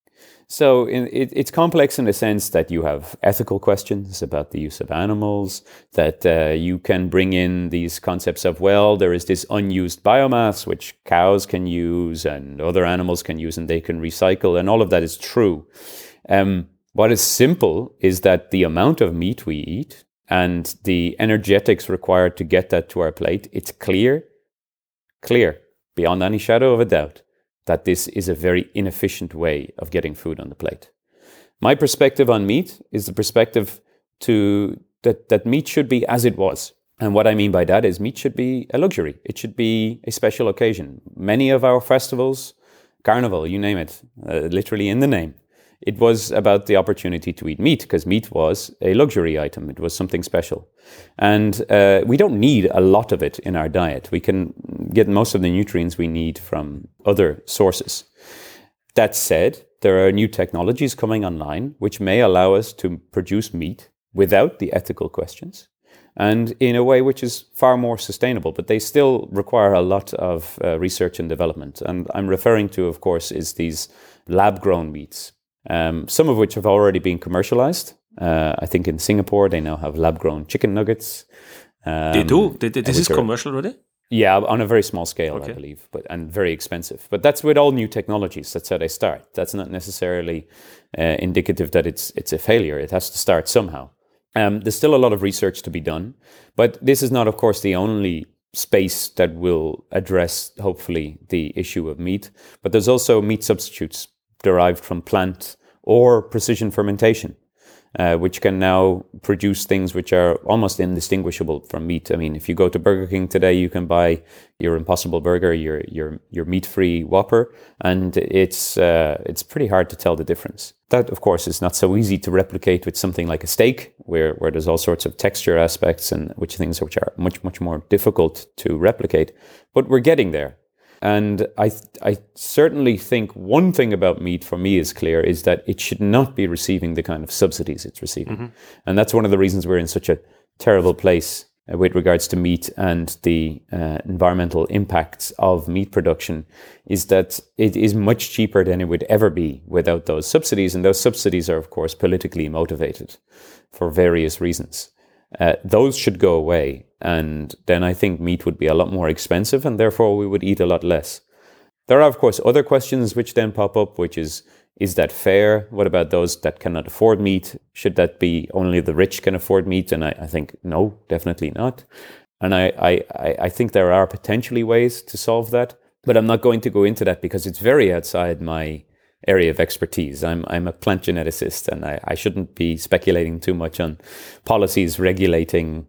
So in, it, it's complex in the sense that you have ethical questions about the use of animals, that uh, you can bring in these concepts of, well, there is this unused biomass which cows can use and other animals can use and they can recycle, and all of that is true. Um, what is simple is that the amount of meat we eat and the energetics required to get that to our plate, it's clear, clear, beyond any shadow of a doubt, that this is a very inefficient way of getting food on the plate. My perspective on meat is the perspective to that, that meat should be as it was. And what I mean by that is meat should be a luxury. It should be a special occasion. Many of our festivals, carnival, you name it, uh, literally in the name, it was about the opportunity to eat meat, because meat was a luxury item. It was something special. And uh, we don't need a lot of it in our diet. We can get most of the nutrients we need from other sources. That said, there are new technologies coming online which may allow us to produce meat without the ethical questions and in a way which is far more sustainable, but they still require a lot of uh, research and development. And I'm referring to, of course, is these lab-grown meats. Um, some of which have already been commercialized. Uh, I think in Singapore, they now have lab-grown chicken nuggets. Um, they do? They, they, this is commercial already? Yeah, on a very small scale, okay. I believe, but and very expensive. But that's with all new technologies. That's how they start. That's not necessarily uh, indicative that it's it's a failure. It has to start somehow. Um, there's still a lot of research to be done, but this is not, of course, the only space that will address, hopefully, the issue of meat. But there's also meat substitutes derived from plant or precision fermentation, uh, which can now produce things which are almost indistinguishable from meat. I mean, if you go to Burger King today, you can buy your Impossible Burger, your your your meat-free Whopper, and it's uh, it's pretty hard to tell the difference. That, of course, is not so easy to replicate with something like a steak, where, where there's all sorts of texture aspects and which things which are much, much more difficult to replicate. But we're getting there. And I I certainly think one thing about meat for me is clear, is that it should not be receiving the kind of subsidies it's receiving. Mm-hmm. And that's one of the reasons we're in such a terrible place uh, with regards to meat and the uh, environmental impacts of meat production, is that it is much cheaper than it would ever be without those subsidies. And those subsidies are, of course, politically motivated for various reasons. Uh, those should go away. And then I think meat would be a lot more expensive, and therefore we would eat a lot less. There are, of course, other questions which then pop up, which is, is that fair? What about those that cannot afford meat? Should that be only the rich can afford meat? And I, I think, no, definitely not. And I, I, I think there are potentially ways to solve that, but I'm not going to go into that because it's very outside my area of expertise. I'm I'm a plant geneticist, and I, I shouldn't be speculating too much on policies regulating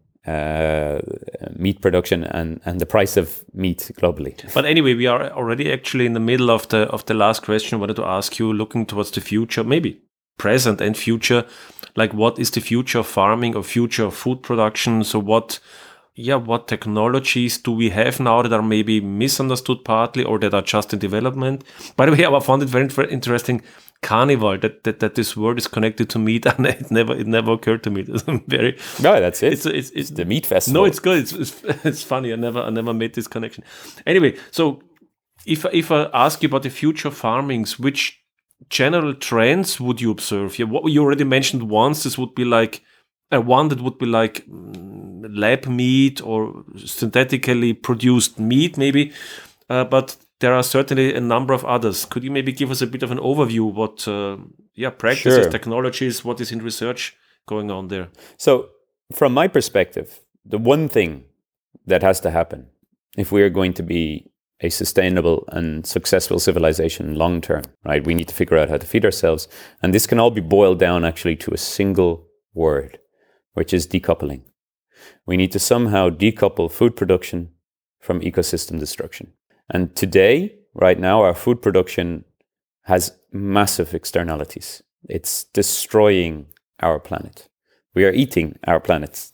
uh, meat production and, and the price of meat globally. But anyway, we are already actually in the middle of the of the last question. I wanted to ask you, looking towards the future, maybe present and future, like what is the future of farming or future of food production? So what, yeah, what technologies do we have now that are maybe misunderstood partly or that are just in development? By the way, I found it very, very interesting. Carnival, that, that that this word is connected to meat, and it never it never occurred to me. It's very no, that's it. It's it's, it's the meat festival. No, it's good. It's, it's it's funny. I never I never made this connection. Anyway, so if if I ask you about the future of farmings, which general trends would you observe? Yeah, what you already mentioned once. This would be like uh, one that would be like mm, lab meat or synthetically produced meat, maybe, uh, but there are certainly a number of others. Could you maybe give us a bit of an overview? What, uh, yeah, practices, sure. technologies, what is in research going on there? So, from my perspective, the one thing that has to happen if we are going to be a sustainable and successful civilization long term, right? We need to figure out how to feed ourselves, and this can all be boiled down actually to a single word, which is decoupling. We need to somehow decouple food production from ecosystem destruction. And today, right now, our food production has massive externalities. It's destroying our planet. We are eating our planet.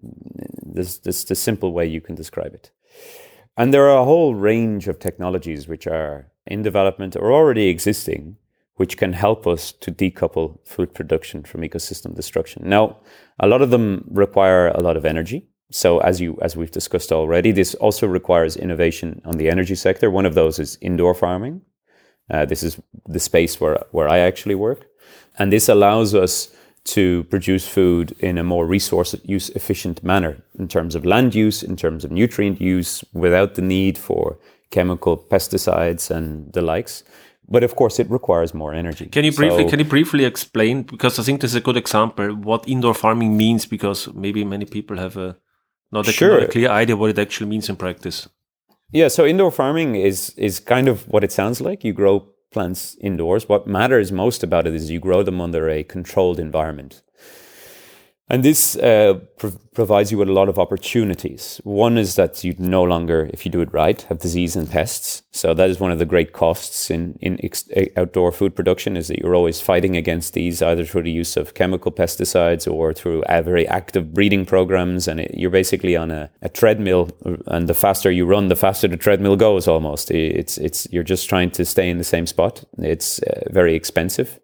This, this is the simple way you can describe it. And there are a whole range of technologies which are in development or already existing, which can help us to decouple food production from ecosystem destruction. Now, a lot of them require a lot of energy. So as you as we've discussed already, this also requires innovation on the energy sector. One of those is indoor farming. Uh, this is the space where, where I actually work. And this allows us to produce food in a more resource use efficient manner in terms of land use, in terms of nutrient use, without the need for chemical pesticides and the likes. But of course, it requires more energy. Can you briefly so, can you briefly explain, because I think this is a good example, what indoor farming means, because maybe many people have a not a, sure. not a clear idea what it actually means in practice. Yeah, so indoor farming is is kind of what it sounds like. You grow plants indoors. What matters most about it is you grow them under a controlled environment. And this uh, pr- provides you with a lot of opportunities. One is that you no longer, if you do it right, have disease and pests. So that is one of the great costs in, in ex- outdoor food production, is that you're always fighting against these, either through the use of chemical pesticides or through uh, very active breeding programs. And it, you're basically on a, a treadmill, and the faster you run, the faster the treadmill goes almost. It's, it's, you're just trying to stay in the same spot. It's uh, very expensive.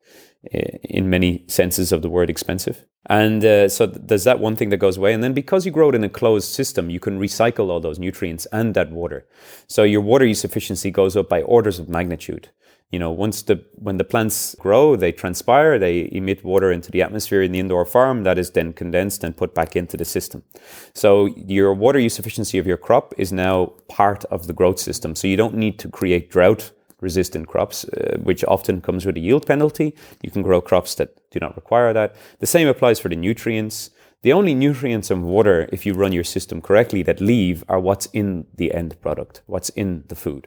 In many senses of the word expensive. And uh, so th- there's that one thing that goes away. And then because you grow it in a closed system, you can recycle all those nutrients and that water. So your water use efficiency goes up by orders of magnitude. You know, once the when the plants grow, they transpire, they emit water into the atmosphere in the indoor farm that is then condensed and put back into the system. So your water use efficiency of your crop is now part of the growth system. So you don't need to create drought resistant crops, uh, which often comes with a yield penalty. You can grow crops that do not require that. The same applies for the nutrients. the only nutrients and water, if you run your system correctly, that leave are what's in the end product, what's in the food.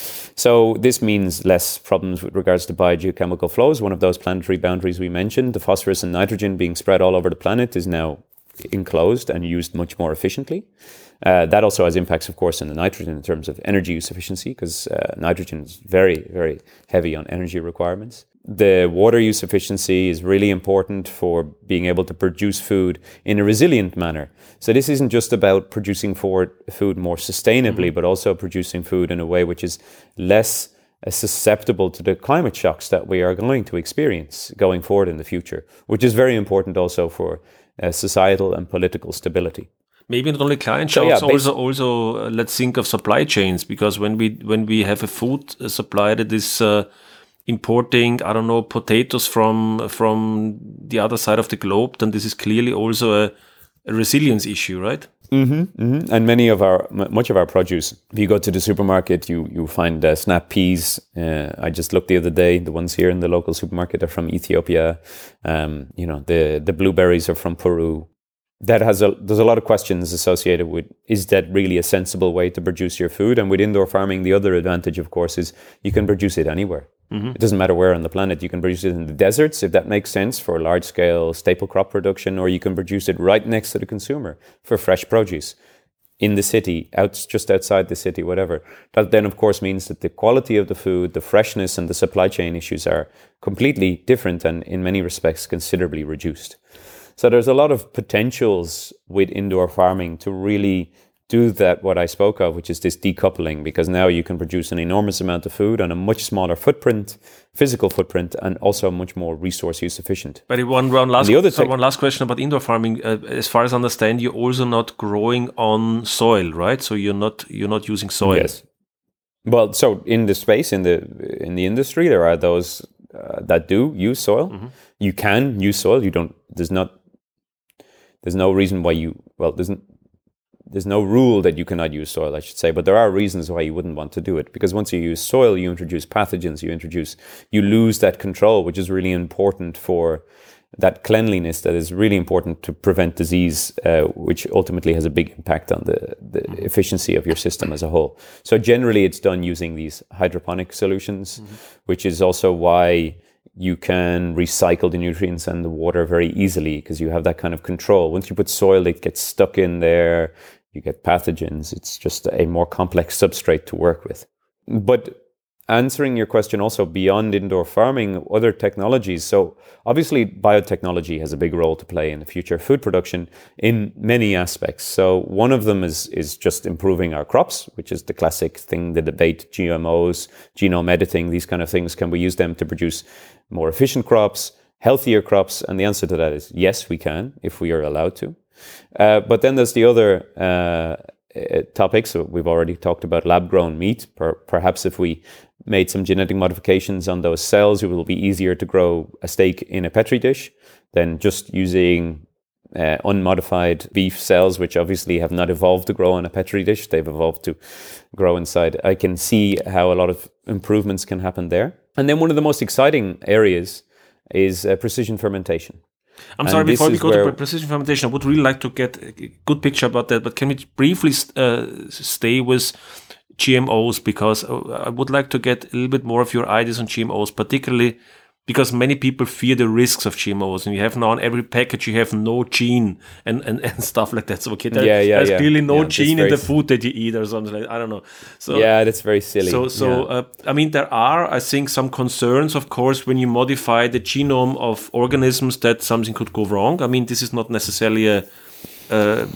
So this means less problems with regards to biogeochemical flows. One of those planetary boundaries we mentioned, the phosphorus and nitrogen being spread all over the planet, is now enclosed and used much more efficiently. Uh, that also has impacts, of course, on the nitrogen in terms of energy use efficiency, because uh, nitrogen is very, very heavy on energy requirements. The water use efficiency is really important for being able to produce food in a resilient manner. So this isn't just about producing for food more sustainably, mm-hmm. but also producing food in a way which is less uh, susceptible to the climate shocks that we are going to experience going forward in the future, which is very important also for uh, societal and political stability. Maybe not only climate So, shocks, yeah, bas- also also uh, let's think of supply chains, because when we when we have a food supply that is uh, importing, I don't know, potatoes from from the other side of the globe, then this is clearly also a, a resilience issue, right? Mm-hmm, mm-hmm. And many of our, m- much of our produce, if you go to the supermarket, you you find uh, snap peas. Uh, I just looked the other day, the ones here in the local supermarket are from Ethiopia. Um, you know, the, the blueberries are from Peru. That has a, there's a lot of questions associated with, is that really a sensible way to produce your food? And with indoor farming, the other advantage, of course, is you can produce it anywhere. Mm-hmm. It doesn't matter where on the planet. You can produce it in the deserts, if that makes sense, for large-scale staple crop production, or you can produce it right next to the consumer for fresh produce in the city, out just outside the city, whatever. That then, of course, means that the quality of the food, the freshness, and the supply chain issues are completely different and, in many respects, considerably reduced. So there's a lot of potentials with indoor farming to really do that, what I spoke of, which is this decoupling, because now you can produce an enormous amount of food on a much smaller footprint, physical footprint, and also much more resource use efficient. But one, one, last, the other so te- one last question about indoor farming. Uh, as far as I understand, you're also not growing on soil, right? So you're not you're not using soil. Yes. Well, so in the space, in the in the industry, there are those uh, that do use soil. Mm-hmm. You can use soil. You don't. There's not. There's no reason why you. Well, there's. There's no rule that you cannot use soil, I should say, but there are reasons why you wouldn't want to do it. Because once you use soil, you introduce pathogens, you introduce, you lose that control, which is really important for that cleanliness that is really important to prevent disease, uh, which ultimately has a big impact on the, the efficiency of your system as a whole. So generally it's done using these hydroponic solutions, mm-hmm. which is also why you can recycle the nutrients and the water very easily, because you have that kind of control. Once you put soil, it gets stuck in there. You get pathogens. It's just a more complex substrate to work with. But answering your question also beyond indoor farming, other technologies. So obviously biotechnology has a big role to play in the future of food production in many aspects. So one of them is is just improving our crops, which is the classic thing, the debate, G M Os, genome editing, these kind of things. Can we use them to produce more efficient crops, healthier crops? And the answer to that is yes, we can, if we are allowed to. Uh, but then there's the other uh, uh, topics. So we've already talked about lab-grown meat. Per- perhaps if we made some genetic modifications on those cells, it will be easier to grow a steak in a Petri dish than just using uh, unmodified beef cells, which obviously have not evolved to grow on a Petri dish. They've evolved to grow inside. I can see how a lot of improvements can happen there. And then one of the most exciting areas is uh, precision fermentation. I'm sorry, before we go to precision fermentation, I would really like to get a good picture about that, but can we briefly uh, stay with G M Os, because I would like to get a little bit more of your ideas on G M Os, particularly because many people fear the risks of G M Os, and you have now on every package, you have no gene and, and, and stuff like that. So, okay, there, yeah, yeah, there's yeah. clearly no yeah, gene in the food that you eat or something like that. I don't know. So yeah, that's very silly. So, so yeah. uh, I mean, there are, I think, some concerns, of course, when you modify the genome of organisms that something could go wrong. I mean, this is not necessarily a... Uh,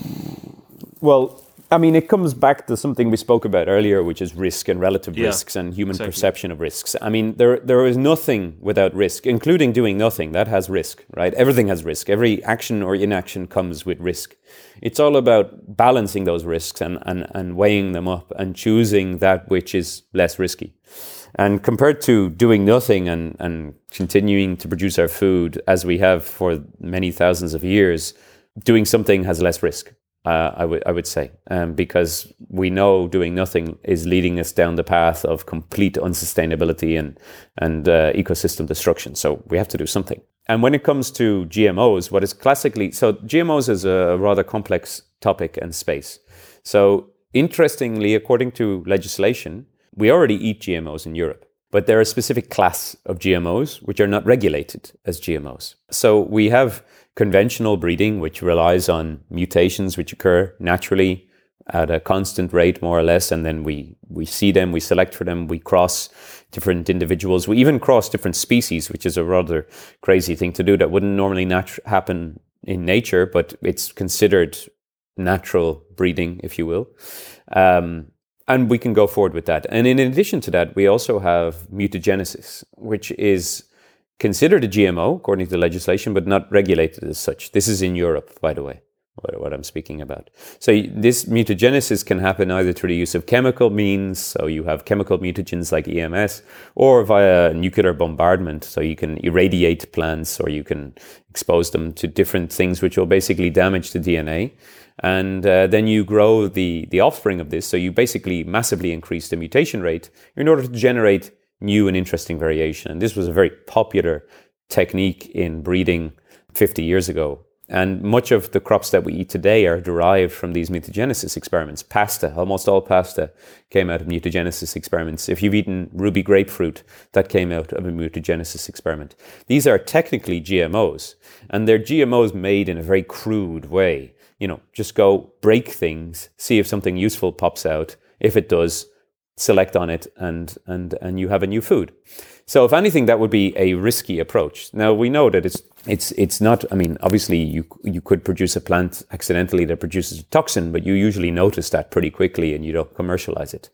well... I mean, it comes back to something we spoke about earlier, which is risk and relative yeah, risks and human exactly. perception of risks. I mean, there there is nothing without risk, including doing nothing. That has risk, right? Everything has risk. Every action or inaction comes with risk. It's all about balancing those risks and, and, and weighing them up and choosing that which is less risky. And compared to doing nothing and, and continuing to produce our food as we have for many thousands of years, doing something has less risk. Uh, I would I would say, um, because we know doing nothing is leading us down the path of complete unsustainability and and uh, ecosystem destruction. So we have to do something. And when it comes to G M Os, what is classically so G M Os is a rather complex topic and space. So interestingly, according to legislation, we already eat G M Os in Europe. But there are a specific class of G M Os which are not regulated as G M Os. So we have conventional breeding, which relies on mutations which occur naturally at a constant rate, more or less, and then we, we see them, we select for them, we cross different individuals. We even cross different species, which is a rather crazy thing to do that wouldn't normally natu- happen in nature, but it's considered natural breeding, if you will. Um, And we can go forward with that. And in addition to that, we also have mutagenesis, which is considered a G M O according to legislation, but not regulated as such. This is in Europe, by the way, what I'm speaking about. So this mutagenesis can happen either through the use of chemical means, so you have chemical mutagens like E M S, or via nuclear bombardment, so you can irradiate plants or you can expose them to different things which will basically damage the D N A. And uh, then you grow the, the offspring of this. So you basically massively increase the mutation rate in order to generate new and interesting variation. And this was a very popular technique in breeding fifty years ago. And much of the crops that we eat today are derived from these mutagenesis experiments. Pasta, almost all pasta came out of mutagenesis experiments. If you've eaten ruby grapefruit, that came out of a mutagenesis experiment. These are technically G M Os, and they're G M Os made in a very crude way. You know, just go break things, see if something useful pops out. If it does, select on it, and and and you have a new food. So if anything, that would be a risky approach. Now we know that it's it's it's not. I mean, obviously you you could produce a plant accidentally that produces a toxin, but you usually notice that pretty quickly and you don't commercialize it.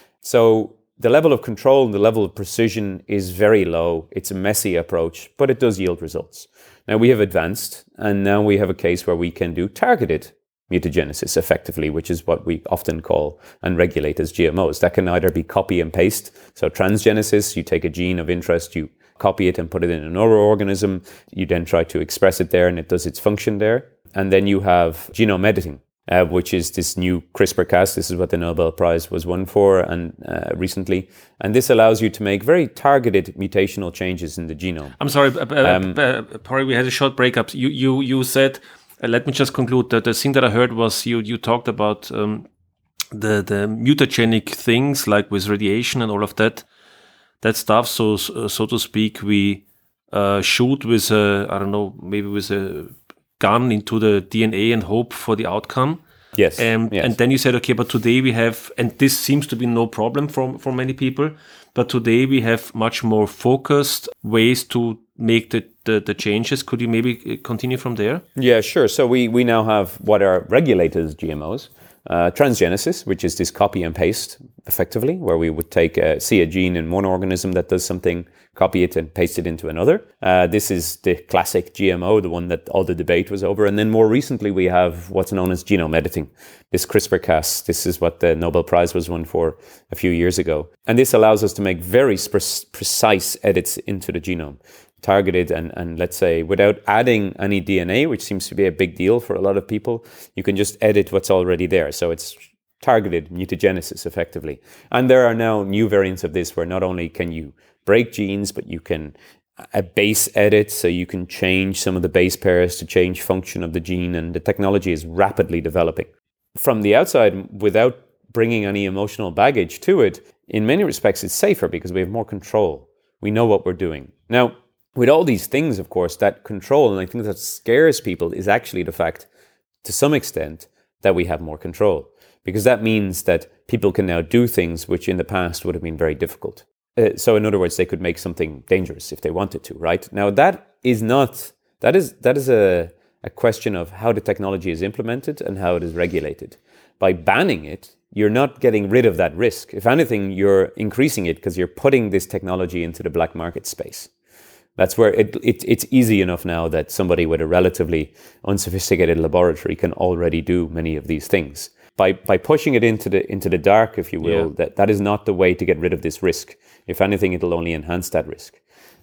So the level of control and the level of precision is very low. It's a messy approach, but it does yield results. Now we have advanced, and now we have a case where we can do targeted mutagenesis effectively, which is what we often call and regulate as G M Os. That can either be copy and paste. So transgenesis, you take a gene of interest, you copy it and put it in another organism. You then try to express it there and it does its function there. And then you have genome editing, uh, which is this new CRISPR Cas. This is what the Nobel Prize was won for and uh, recently. And this allows you to make very targeted mutational changes in the genome. I'm sorry, uh, um, uh, Pori, we had a short breakup. You you you said, uh, let me just conclude that the thing that I heard was you you talked about um, the the mutagenic things like with radiation and all of that, that stuff. So so to speak, we uh, shoot with a I don't know maybe with a gun into the D N A and hope for the outcome. Yes. Um, yes. And then you said, okay, but today we have, and this seems to be no problem for, for many people, but today we have much more focused ways to make the, the, the changes. Could you maybe continue from there? Yeah, sure. So we, we now have what are regulated as G M Os. Uh, transgenesis, which is this copy and paste, effectively, where we would take a, see a gene in one organism that does something, copy it and paste it into another. Uh, this is the classic G M O, the one that all the debate was over. And then more recently, we have what's known as genome editing. This CRISPR Cas, this is what the Nobel Prize was won for a few years ago. And this allows us to make very pre- precise edits into the genome, targeted and, and let's say without adding any D N A, which seems to be a big deal for a lot of people. You can just edit what's already there. So it's targeted mutagenesis effectively. And there are now new variants of this where not only can you break genes, but you can a base edit, so you can change some of the base pairs to change function of the gene, and the technology is rapidly developing. From the outside, without bringing any emotional baggage to it, in many respects it's safer because we have more control. We know what we're doing. Now, with all these things, of course, that control, and I think that scares people, is actually the fact, to some extent, that we have more control. Because that means that people can now do things which in the past would have been very difficult. Uh, so in other words, they could make something dangerous if they wanted to, right? Now that is not, that is that is a, a question of how the technology is implemented and how it is regulated. By banning it, you're not getting rid of that risk. If anything, you're increasing it because you're putting this technology into the black market space. That's where it, it it's easy enough now that somebody with a relatively unsophisticated laboratory can already do many of these things. By by pushing it into the into the dark, if you will, yeah. that, that is not the way to get rid of this risk. If anything, it'll only enhance that risk.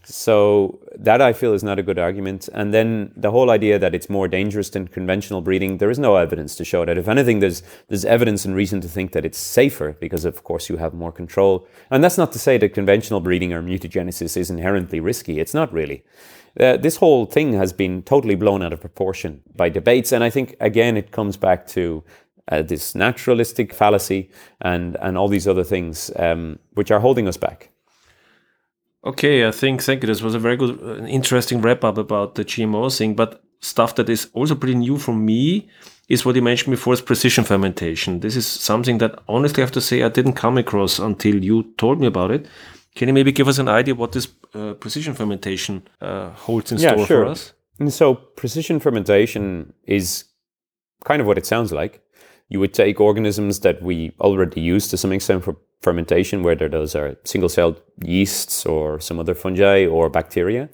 So that I feel is not a good argument. And then the whole idea that it's more dangerous than conventional breeding, there is no evidence to show that. If anything, there's there's evidence and reason to think that it's safer because, of course, you have more control. And that's not to say that conventional breeding or mutagenesis is inherently risky. It's not really. Uh, this whole thing has been totally blown out of proportion by debates. And I think, again, it comes back to uh, this naturalistic fallacy and, and all these other things um, which are holding us back. Okay, I think, thank you. This was a very good, uh, interesting wrap up about the G M O thing. But stuff that is also pretty new for me is what you mentioned before, is precision fermentation. This is something that honestly I have to say I didn't come across until you told me about it. Can you maybe give us an idea what this uh, precision fermentation uh, holds in yeah, store sure. for us? And so precision fermentation is kind of what it sounds like. You would take organisms that we already use to some extent for fermentation, whether those are single-celled yeasts or some other fungi or bacteria.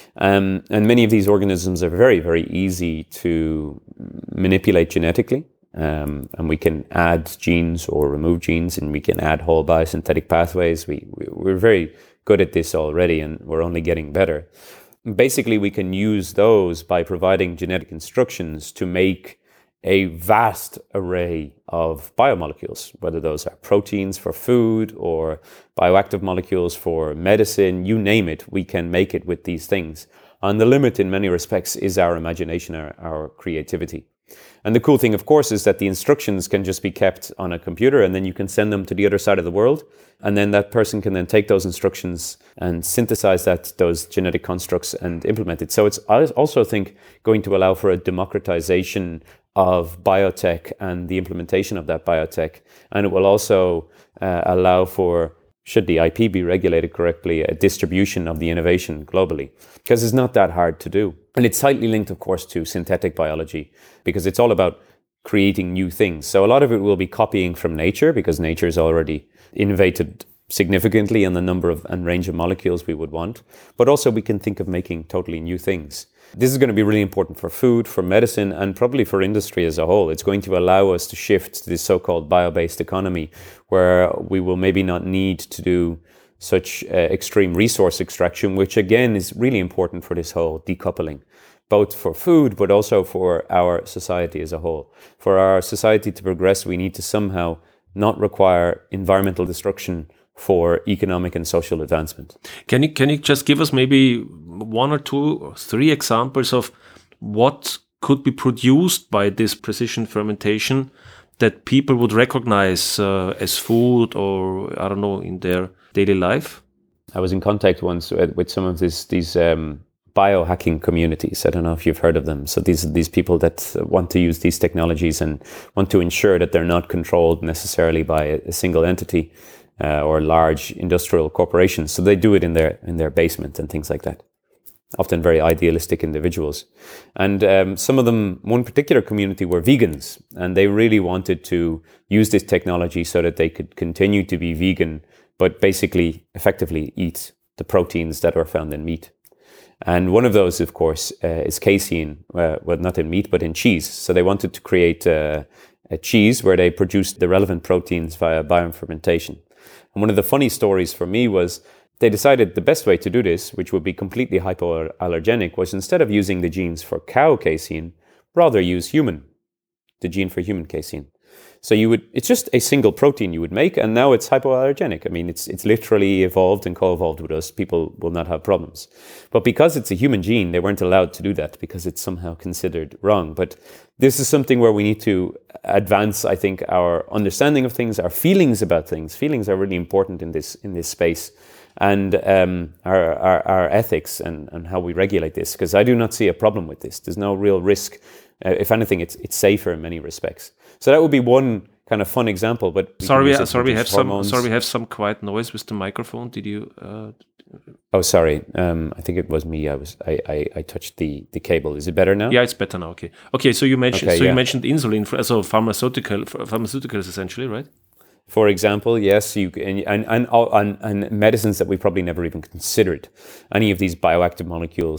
Um, and many of these organisms are very, very easy to manipulate genetically. Um, and we can add genes or remove genes, and we can add whole biosynthetic pathways. We, we, we're very good at this already, and we're only getting better. Basically, we can use those by providing genetic instructions to make a vast array of biomolecules, whether those are proteins for food or bioactive molecules for medicine, you name it, we can make it with these things. And the limit in many respects is our imagination, our, our creativity. And the cool thing, of course, is that the instructions can just be kept on a computer, and then you can send them to the other side of the world. And then that person can then take those instructions and synthesize that, those genetic constructs, and implement it. So it's, I also think, going to allow for a democratization of biotech and the implementation of that biotech. And it will also uh, allow for, should the I P be regulated correctly, a distribution of the innovation globally, because it's not that hard to do. And it's tightly linked, of course, to synthetic biology, because it's all about creating new things. So a lot of it will be copying from nature, because nature has already innovated significantly in the number of and range of molecules we would want. But also we can think of making totally new things. This is going to be really important for food, for medicine, and probably for industry as a whole. It's going to allow us to shift to this so-called bio-based economy, where we will maybe not need to do such uh, extreme resource extraction, which again is really important for this whole decoupling, both for food, but also for our society as a whole. For our society to progress, we need to somehow not require environmental destruction for economic and social advancement. Can you can you just give us maybe one or two or three examples of what could be produced by this precision fermentation that people would recognize uh, as food, or I don't know, in their daily life? I was in contact once with, with some of this, these um, biohacking communities. I don't know if you've heard of them. So these these people that want to use these technologies and want to ensure that they're not controlled necessarily by a, a single entity uh, or large industrial corporations. So they do it in their in their basement and things like that. Often very idealistic individuals. And um, some of them, one particular community, were vegans, and they really wanted to use this technology so that they could continue to be vegan, but basically effectively eat the proteins that are found in meat. And one of those, of course, uh, is casein, uh, well, not in meat, but in cheese. So they wanted to create uh, a cheese where they produced the relevant proteins via biofermentation. And one of the funny stories for me was they decided the best way to do this, which would be completely hypoallergenic, was instead of using the genes for cow casein, rather use human, the gene for human casein. So you would, it's just a single protein you would make, and now it's hypoallergenic. I mean, it's it's literally evolved and co-evolved with us. People will not have problems. But because it's a human gene, they weren't allowed to do that because it's somehow considered wrong. But this is something where we need to advance, I think, our understanding of things, our feelings about things. Feelings are really important in this in this space. And um, our, our, our ethics and, and how we regulate this, because I do not see a problem with this. There's no real risk. Uh, if anything, it's it's safer in many respects. So that would be one kind of fun example. But we sorry, we, sorry, we have hormones. some. Sorry, we have some quiet noise with the microphone. Did you? Uh... Oh, sorry. Um, I think it was me. I was. I, I, I touched the, the cable. Is it better now? Yeah, it's better now. Okay. Okay. So you mentioned. Okay, so yeah. you mentioned insulin, for, so pharmaceutical pharmaceuticals essentially, right? For example, yes, you and and, and and and medicines that we probably never even considered. Any of these bioactive molecules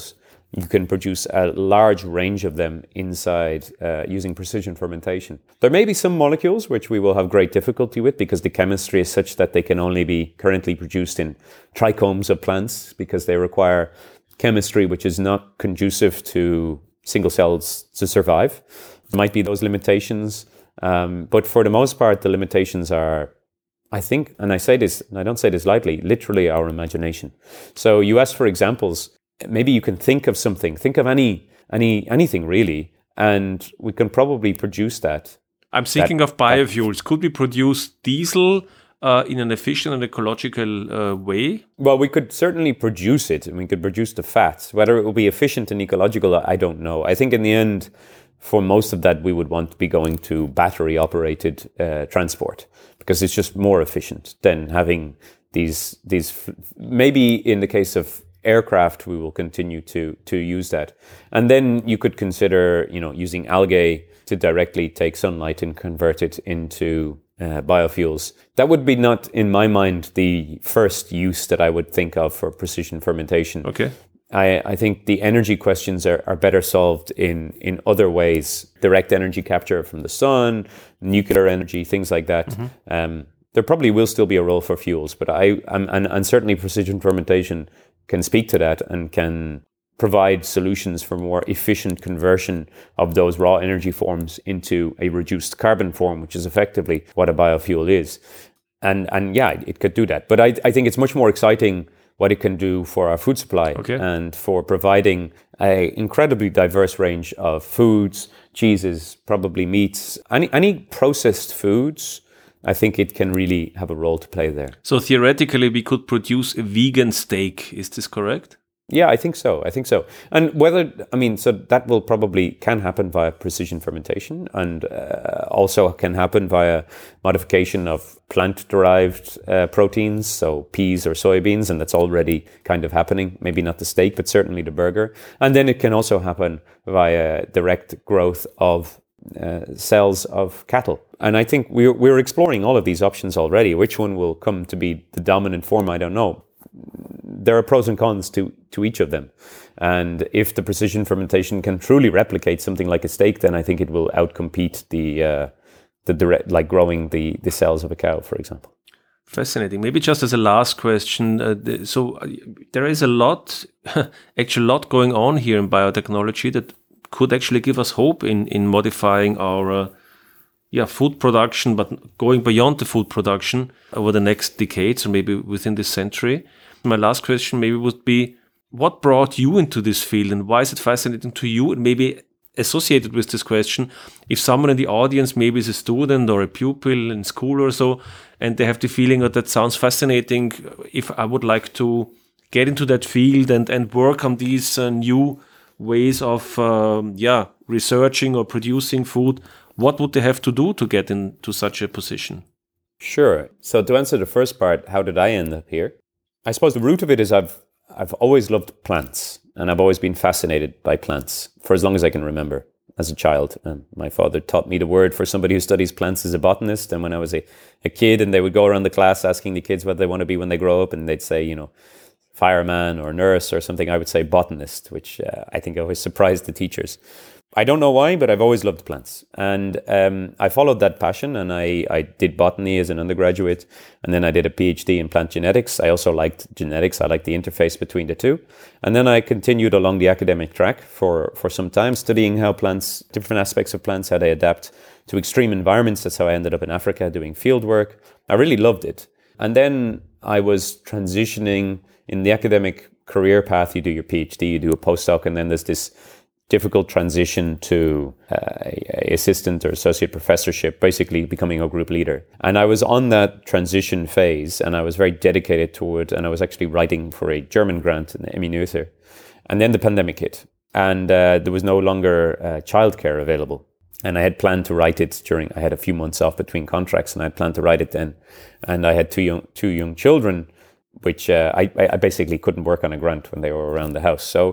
you can produce a large range of them inside uh, using precision fermentation. There may be some molecules which we will have great difficulty with because the chemistry is such that they can only be currently produced in trichomes of plants because they require chemistry which is not conducive to single cells to survive. There might be those limitations, um, but for the most part, the limitations are, I think, and I say this, and I don't say this lightly, literally our imagination. So you ask for examples. Maybe you can think of something, think of any, any, anything really, and we can probably produce that. I'm thinking that, of biofuels. That, Could we produce diesel uh, in an efficient and ecological uh, way? Well, we could certainly produce it, and we could produce the fats. Whether it will be efficient and ecological, I don't know. I think in the end, for most of that, we would want to be going to battery-operated uh, transport because it's just more efficient than having these, these. Maybe in the case of aircraft, we will continue to to use that. And then you could consider, you know, using algae to directly take sunlight and convert it into uh, biofuels. That would be not, in my mind, the first use that I would think of for precision fermentation. Okay. I, I think the energy questions are, are better solved in, in other ways. Direct energy capture from the sun, nuclear energy, things like that. Mm-hmm. Um, there probably will still be a role for fuels, but I I'm, and, and certainly precision fermentation can speak to that and can provide solutions for more efficient conversion of those raw energy forms into a reduced carbon form, which is effectively what a biofuel is. And and yeah, it could do that. But I, I think it's much more exciting what it can do for our food supply okay. and for providing an incredibly diverse range of foods, cheeses, probably meats, any any processed foods. I think it can really have a role to play there. So theoretically, we could produce a vegan steak. Is this correct? Yeah, I think so. I think so. And whether, I mean, so that will probably can happen via precision fermentation and uh, also can happen via modification of plant-derived uh, proteins, so peas or soybeans, and that's already kind of happening. Maybe not the steak, but certainly the burger. And then it can also happen via direct growth of uh, cells of cattle. And I think we're, we're exploring all of these options already. Which one will come to be the dominant form, I don't know. There are pros and cons to, to each of them. And if the precision fermentation can truly replicate something like a steak, then I think it will outcompete the uh, the direct, like growing the, the cells of a cow, for example. Fascinating. Maybe just as a last question, uh, the, so uh, there is a lot, actually a lot going on here in biotechnology that could actually give us hope in, in modifying our uh, yeah, food production, but going beyond the food production over the next decades or maybe within this century. My last question maybe would be, what brought you into this field and why is it fascinating to you? And maybe associated with this question, if someone in the audience maybe is a student or a pupil in school or so, and they have the feeling that that sounds fascinating, if I would like to get into that field and, and work on these uh, new ways of um, yeah researching or producing food, what would they have to do to get into such a position? Sure. So to answer the first part, how did I end up here? I suppose the root of it is I've I've always loved plants, and I've always been fascinated by plants for as long as I can remember as a child. And my father taught me the word for somebody who studies plants as a botanist. And when I was a, a kid and they would go around the class asking the kids what they want to be when they grow up, and they'd say, you know, fireman or nurse or something, I would say botanist, which uh, I think always surprised the teachers. I don't know why, but I've always loved plants. And um, I followed that passion, and I, I did botany as an undergraduate, and then I did a PhD in plant genetics. I also liked genetics. I liked the interface between the two. And then I continued along the academic track for, for some time, studying how plants, different aspects of plants, how they adapt to extreme environments. That's how I ended up in Africa doing field work. I really loved it. And then I was transitioning in the academic career path. You do your PhD, you do a postdoc, and then there's this difficult transition to uh, a assistant or associate professorship, basically becoming a group leader. And I was on that transition phase, and I was very dedicated to it, and I was actually writing for a German grant, an Emmy Noether. And then the pandemic hit, and uh, there was no longer uh, childcare available. And I had planned to write it during, I had a few months off between contracts, and I had planned to write it then. And I had two young, two young children, which uh, I, I basically couldn't work on a grant when they were around the house. So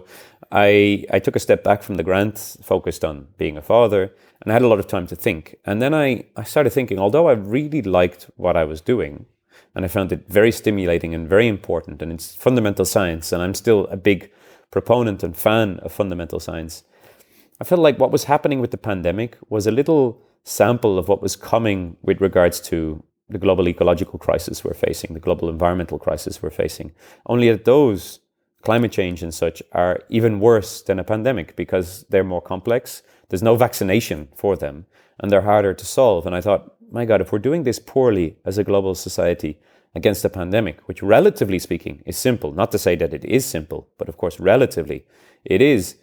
I, I took a step back from the grant, focused on being a father, and I had a lot of time to think. And then I, I started thinking, although I really liked what I was doing, and I found it very stimulating and very important, and it's fundamental science, and I'm still a big proponent and fan of fundamental science, I felt like what was happening with the pandemic was a little sample of what was coming with regards to the global ecological crisis we're facing, the global environmental crisis we're facing. Only that those, climate change and such, are even worse than a pandemic because they're more complex. There's no vaccination for them and they're harder to solve. And I thought, my God, if we're doing this poorly as a global society against a pandemic, which relatively speaking is simple, not to say that it is simple, but of course, relatively it is,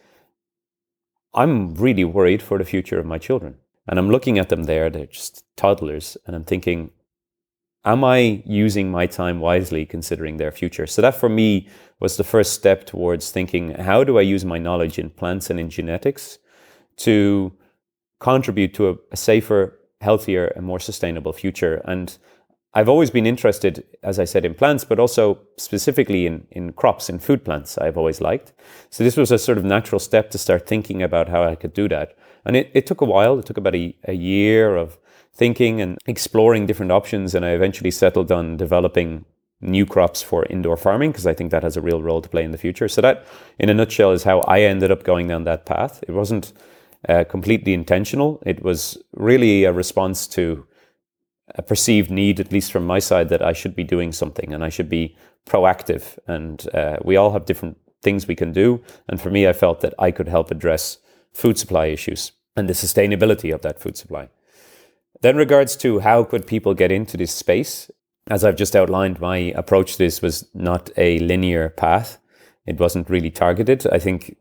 I'm really worried for the future of my children. And I'm looking at them there, they're just toddlers, and I'm thinking, am I using my time wisely considering their future? So that for me was the first step towards thinking, how do I use my knowledge in plants and in genetics to contribute to a, a safer, healthier and more sustainable future? And I've always been interested, as I said, in plants, but also specifically in, in crops, in food plants I've always liked. So this was a sort of natural step to start thinking about how I could do that. And it, it took a while. It took about a, a year of thinking and exploring different options. And I eventually settled on developing new crops for indoor farming because I think that has a real role to play in the future. So that, in a nutshell, is how I ended up going down that path. It wasn't uh, completely intentional. It was really a response to a perceived need, at least from my side, that I should be doing something and I should be proactive. And uh, we all have different things we can do. And for me, I felt that I could help address food supply issues and the sustainability of that food supply. Then regards to how could people get into this space, as I've just outlined, my approach to this was not a linear path. It wasn't really targeted. I think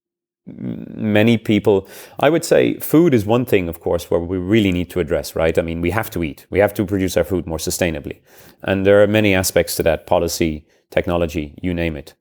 many people, I would say food is one thing, of course, where we really need to address, right? I mean, we have to eat. We have to produce our food more sustainably. And there are many aspects to that, policy, technology, you name it.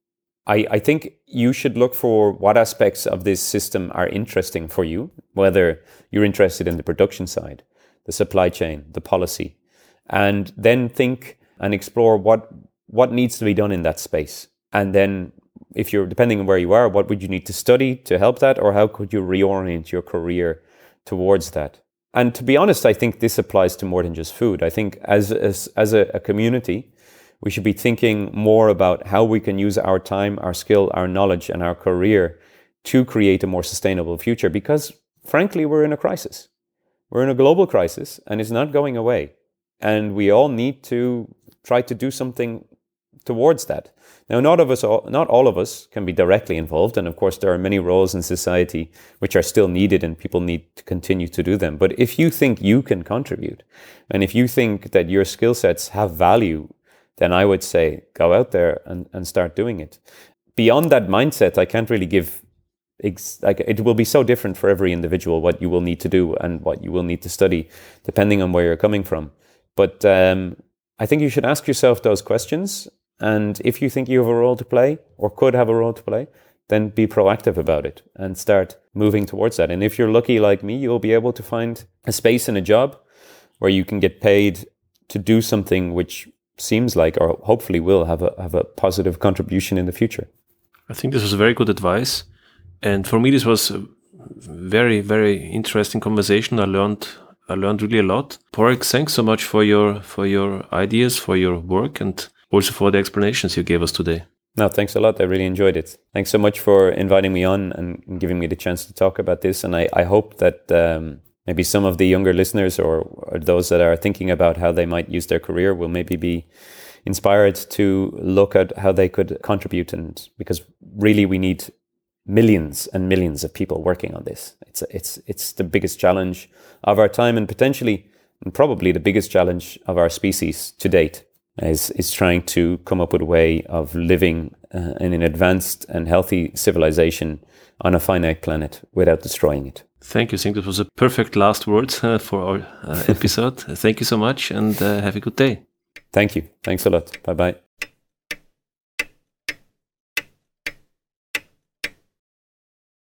I, I think you should look for what aspects of this system are interesting for you, whether you're interested in the production side, the supply chain, the policy, and then think and explore what what needs to be done in that space. And then if you're, depending on where you are, what would you need to study to help that, or how could you reorient your career towards that? And to be honest, I think this applies to more than just food. I think as as, as a, a community, we should be thinking more about how we can use our time, our skill, our knowledge, and our career to create a more sustainable future. Because frankly, we're in a crisis. We're in a global crisis, and it's not going away. And we all need to try to do something towards that. Now, not of us, all, not all of us can be directly involved. And of course, there are many roles in society which are still needed and people need to continue to do them. But if you think you can contribute, and if you think that your skill sets have value, then I would say go out there and, and start doing it. Beyond that mindset, I can't really give, ex- like it will be so different for every individual what you will need to do and what you will need to study, depending on where you're coming from. But um, I think you should ask yourself those questions. And if you think you have a role to play or could have a role to play, then be proactive about it and start moving towards that. And if you're lucky like me, you'll be able to find a space in a job where you can get paid to do something which seems like, or hopefully will have a have a positive contribution in the future. I think this was very good advice. And for me, this was a very, very interesting conversation. I learned I learned really a lot. Porrick, thanks so much for your for your ideas, for your work, and also for the explanations you gave us today. No, thanks a lot. I really enjoyed it. Thanks so much for inviting me on and giving me the chance to talk about this. And I, I hope that um, maybe some of the younger listeners or, or those that are thinking about how they might use their career will maybe be inspired to look at how they could contribute. And because really we need millions and millions of people working on this. It's it's it's the biggest challenge of our time and potentially and probably the biggest challenge of our species to date is is trying to come up with a way of living uh, in an advanced and healthy civilization on a finite planet without destroying it. Thank you. I think that was a perfect last word uh, for our uh, episode. Thank you so much and uh, have a good day. Thank you. Thanks a lot. Bye-bye.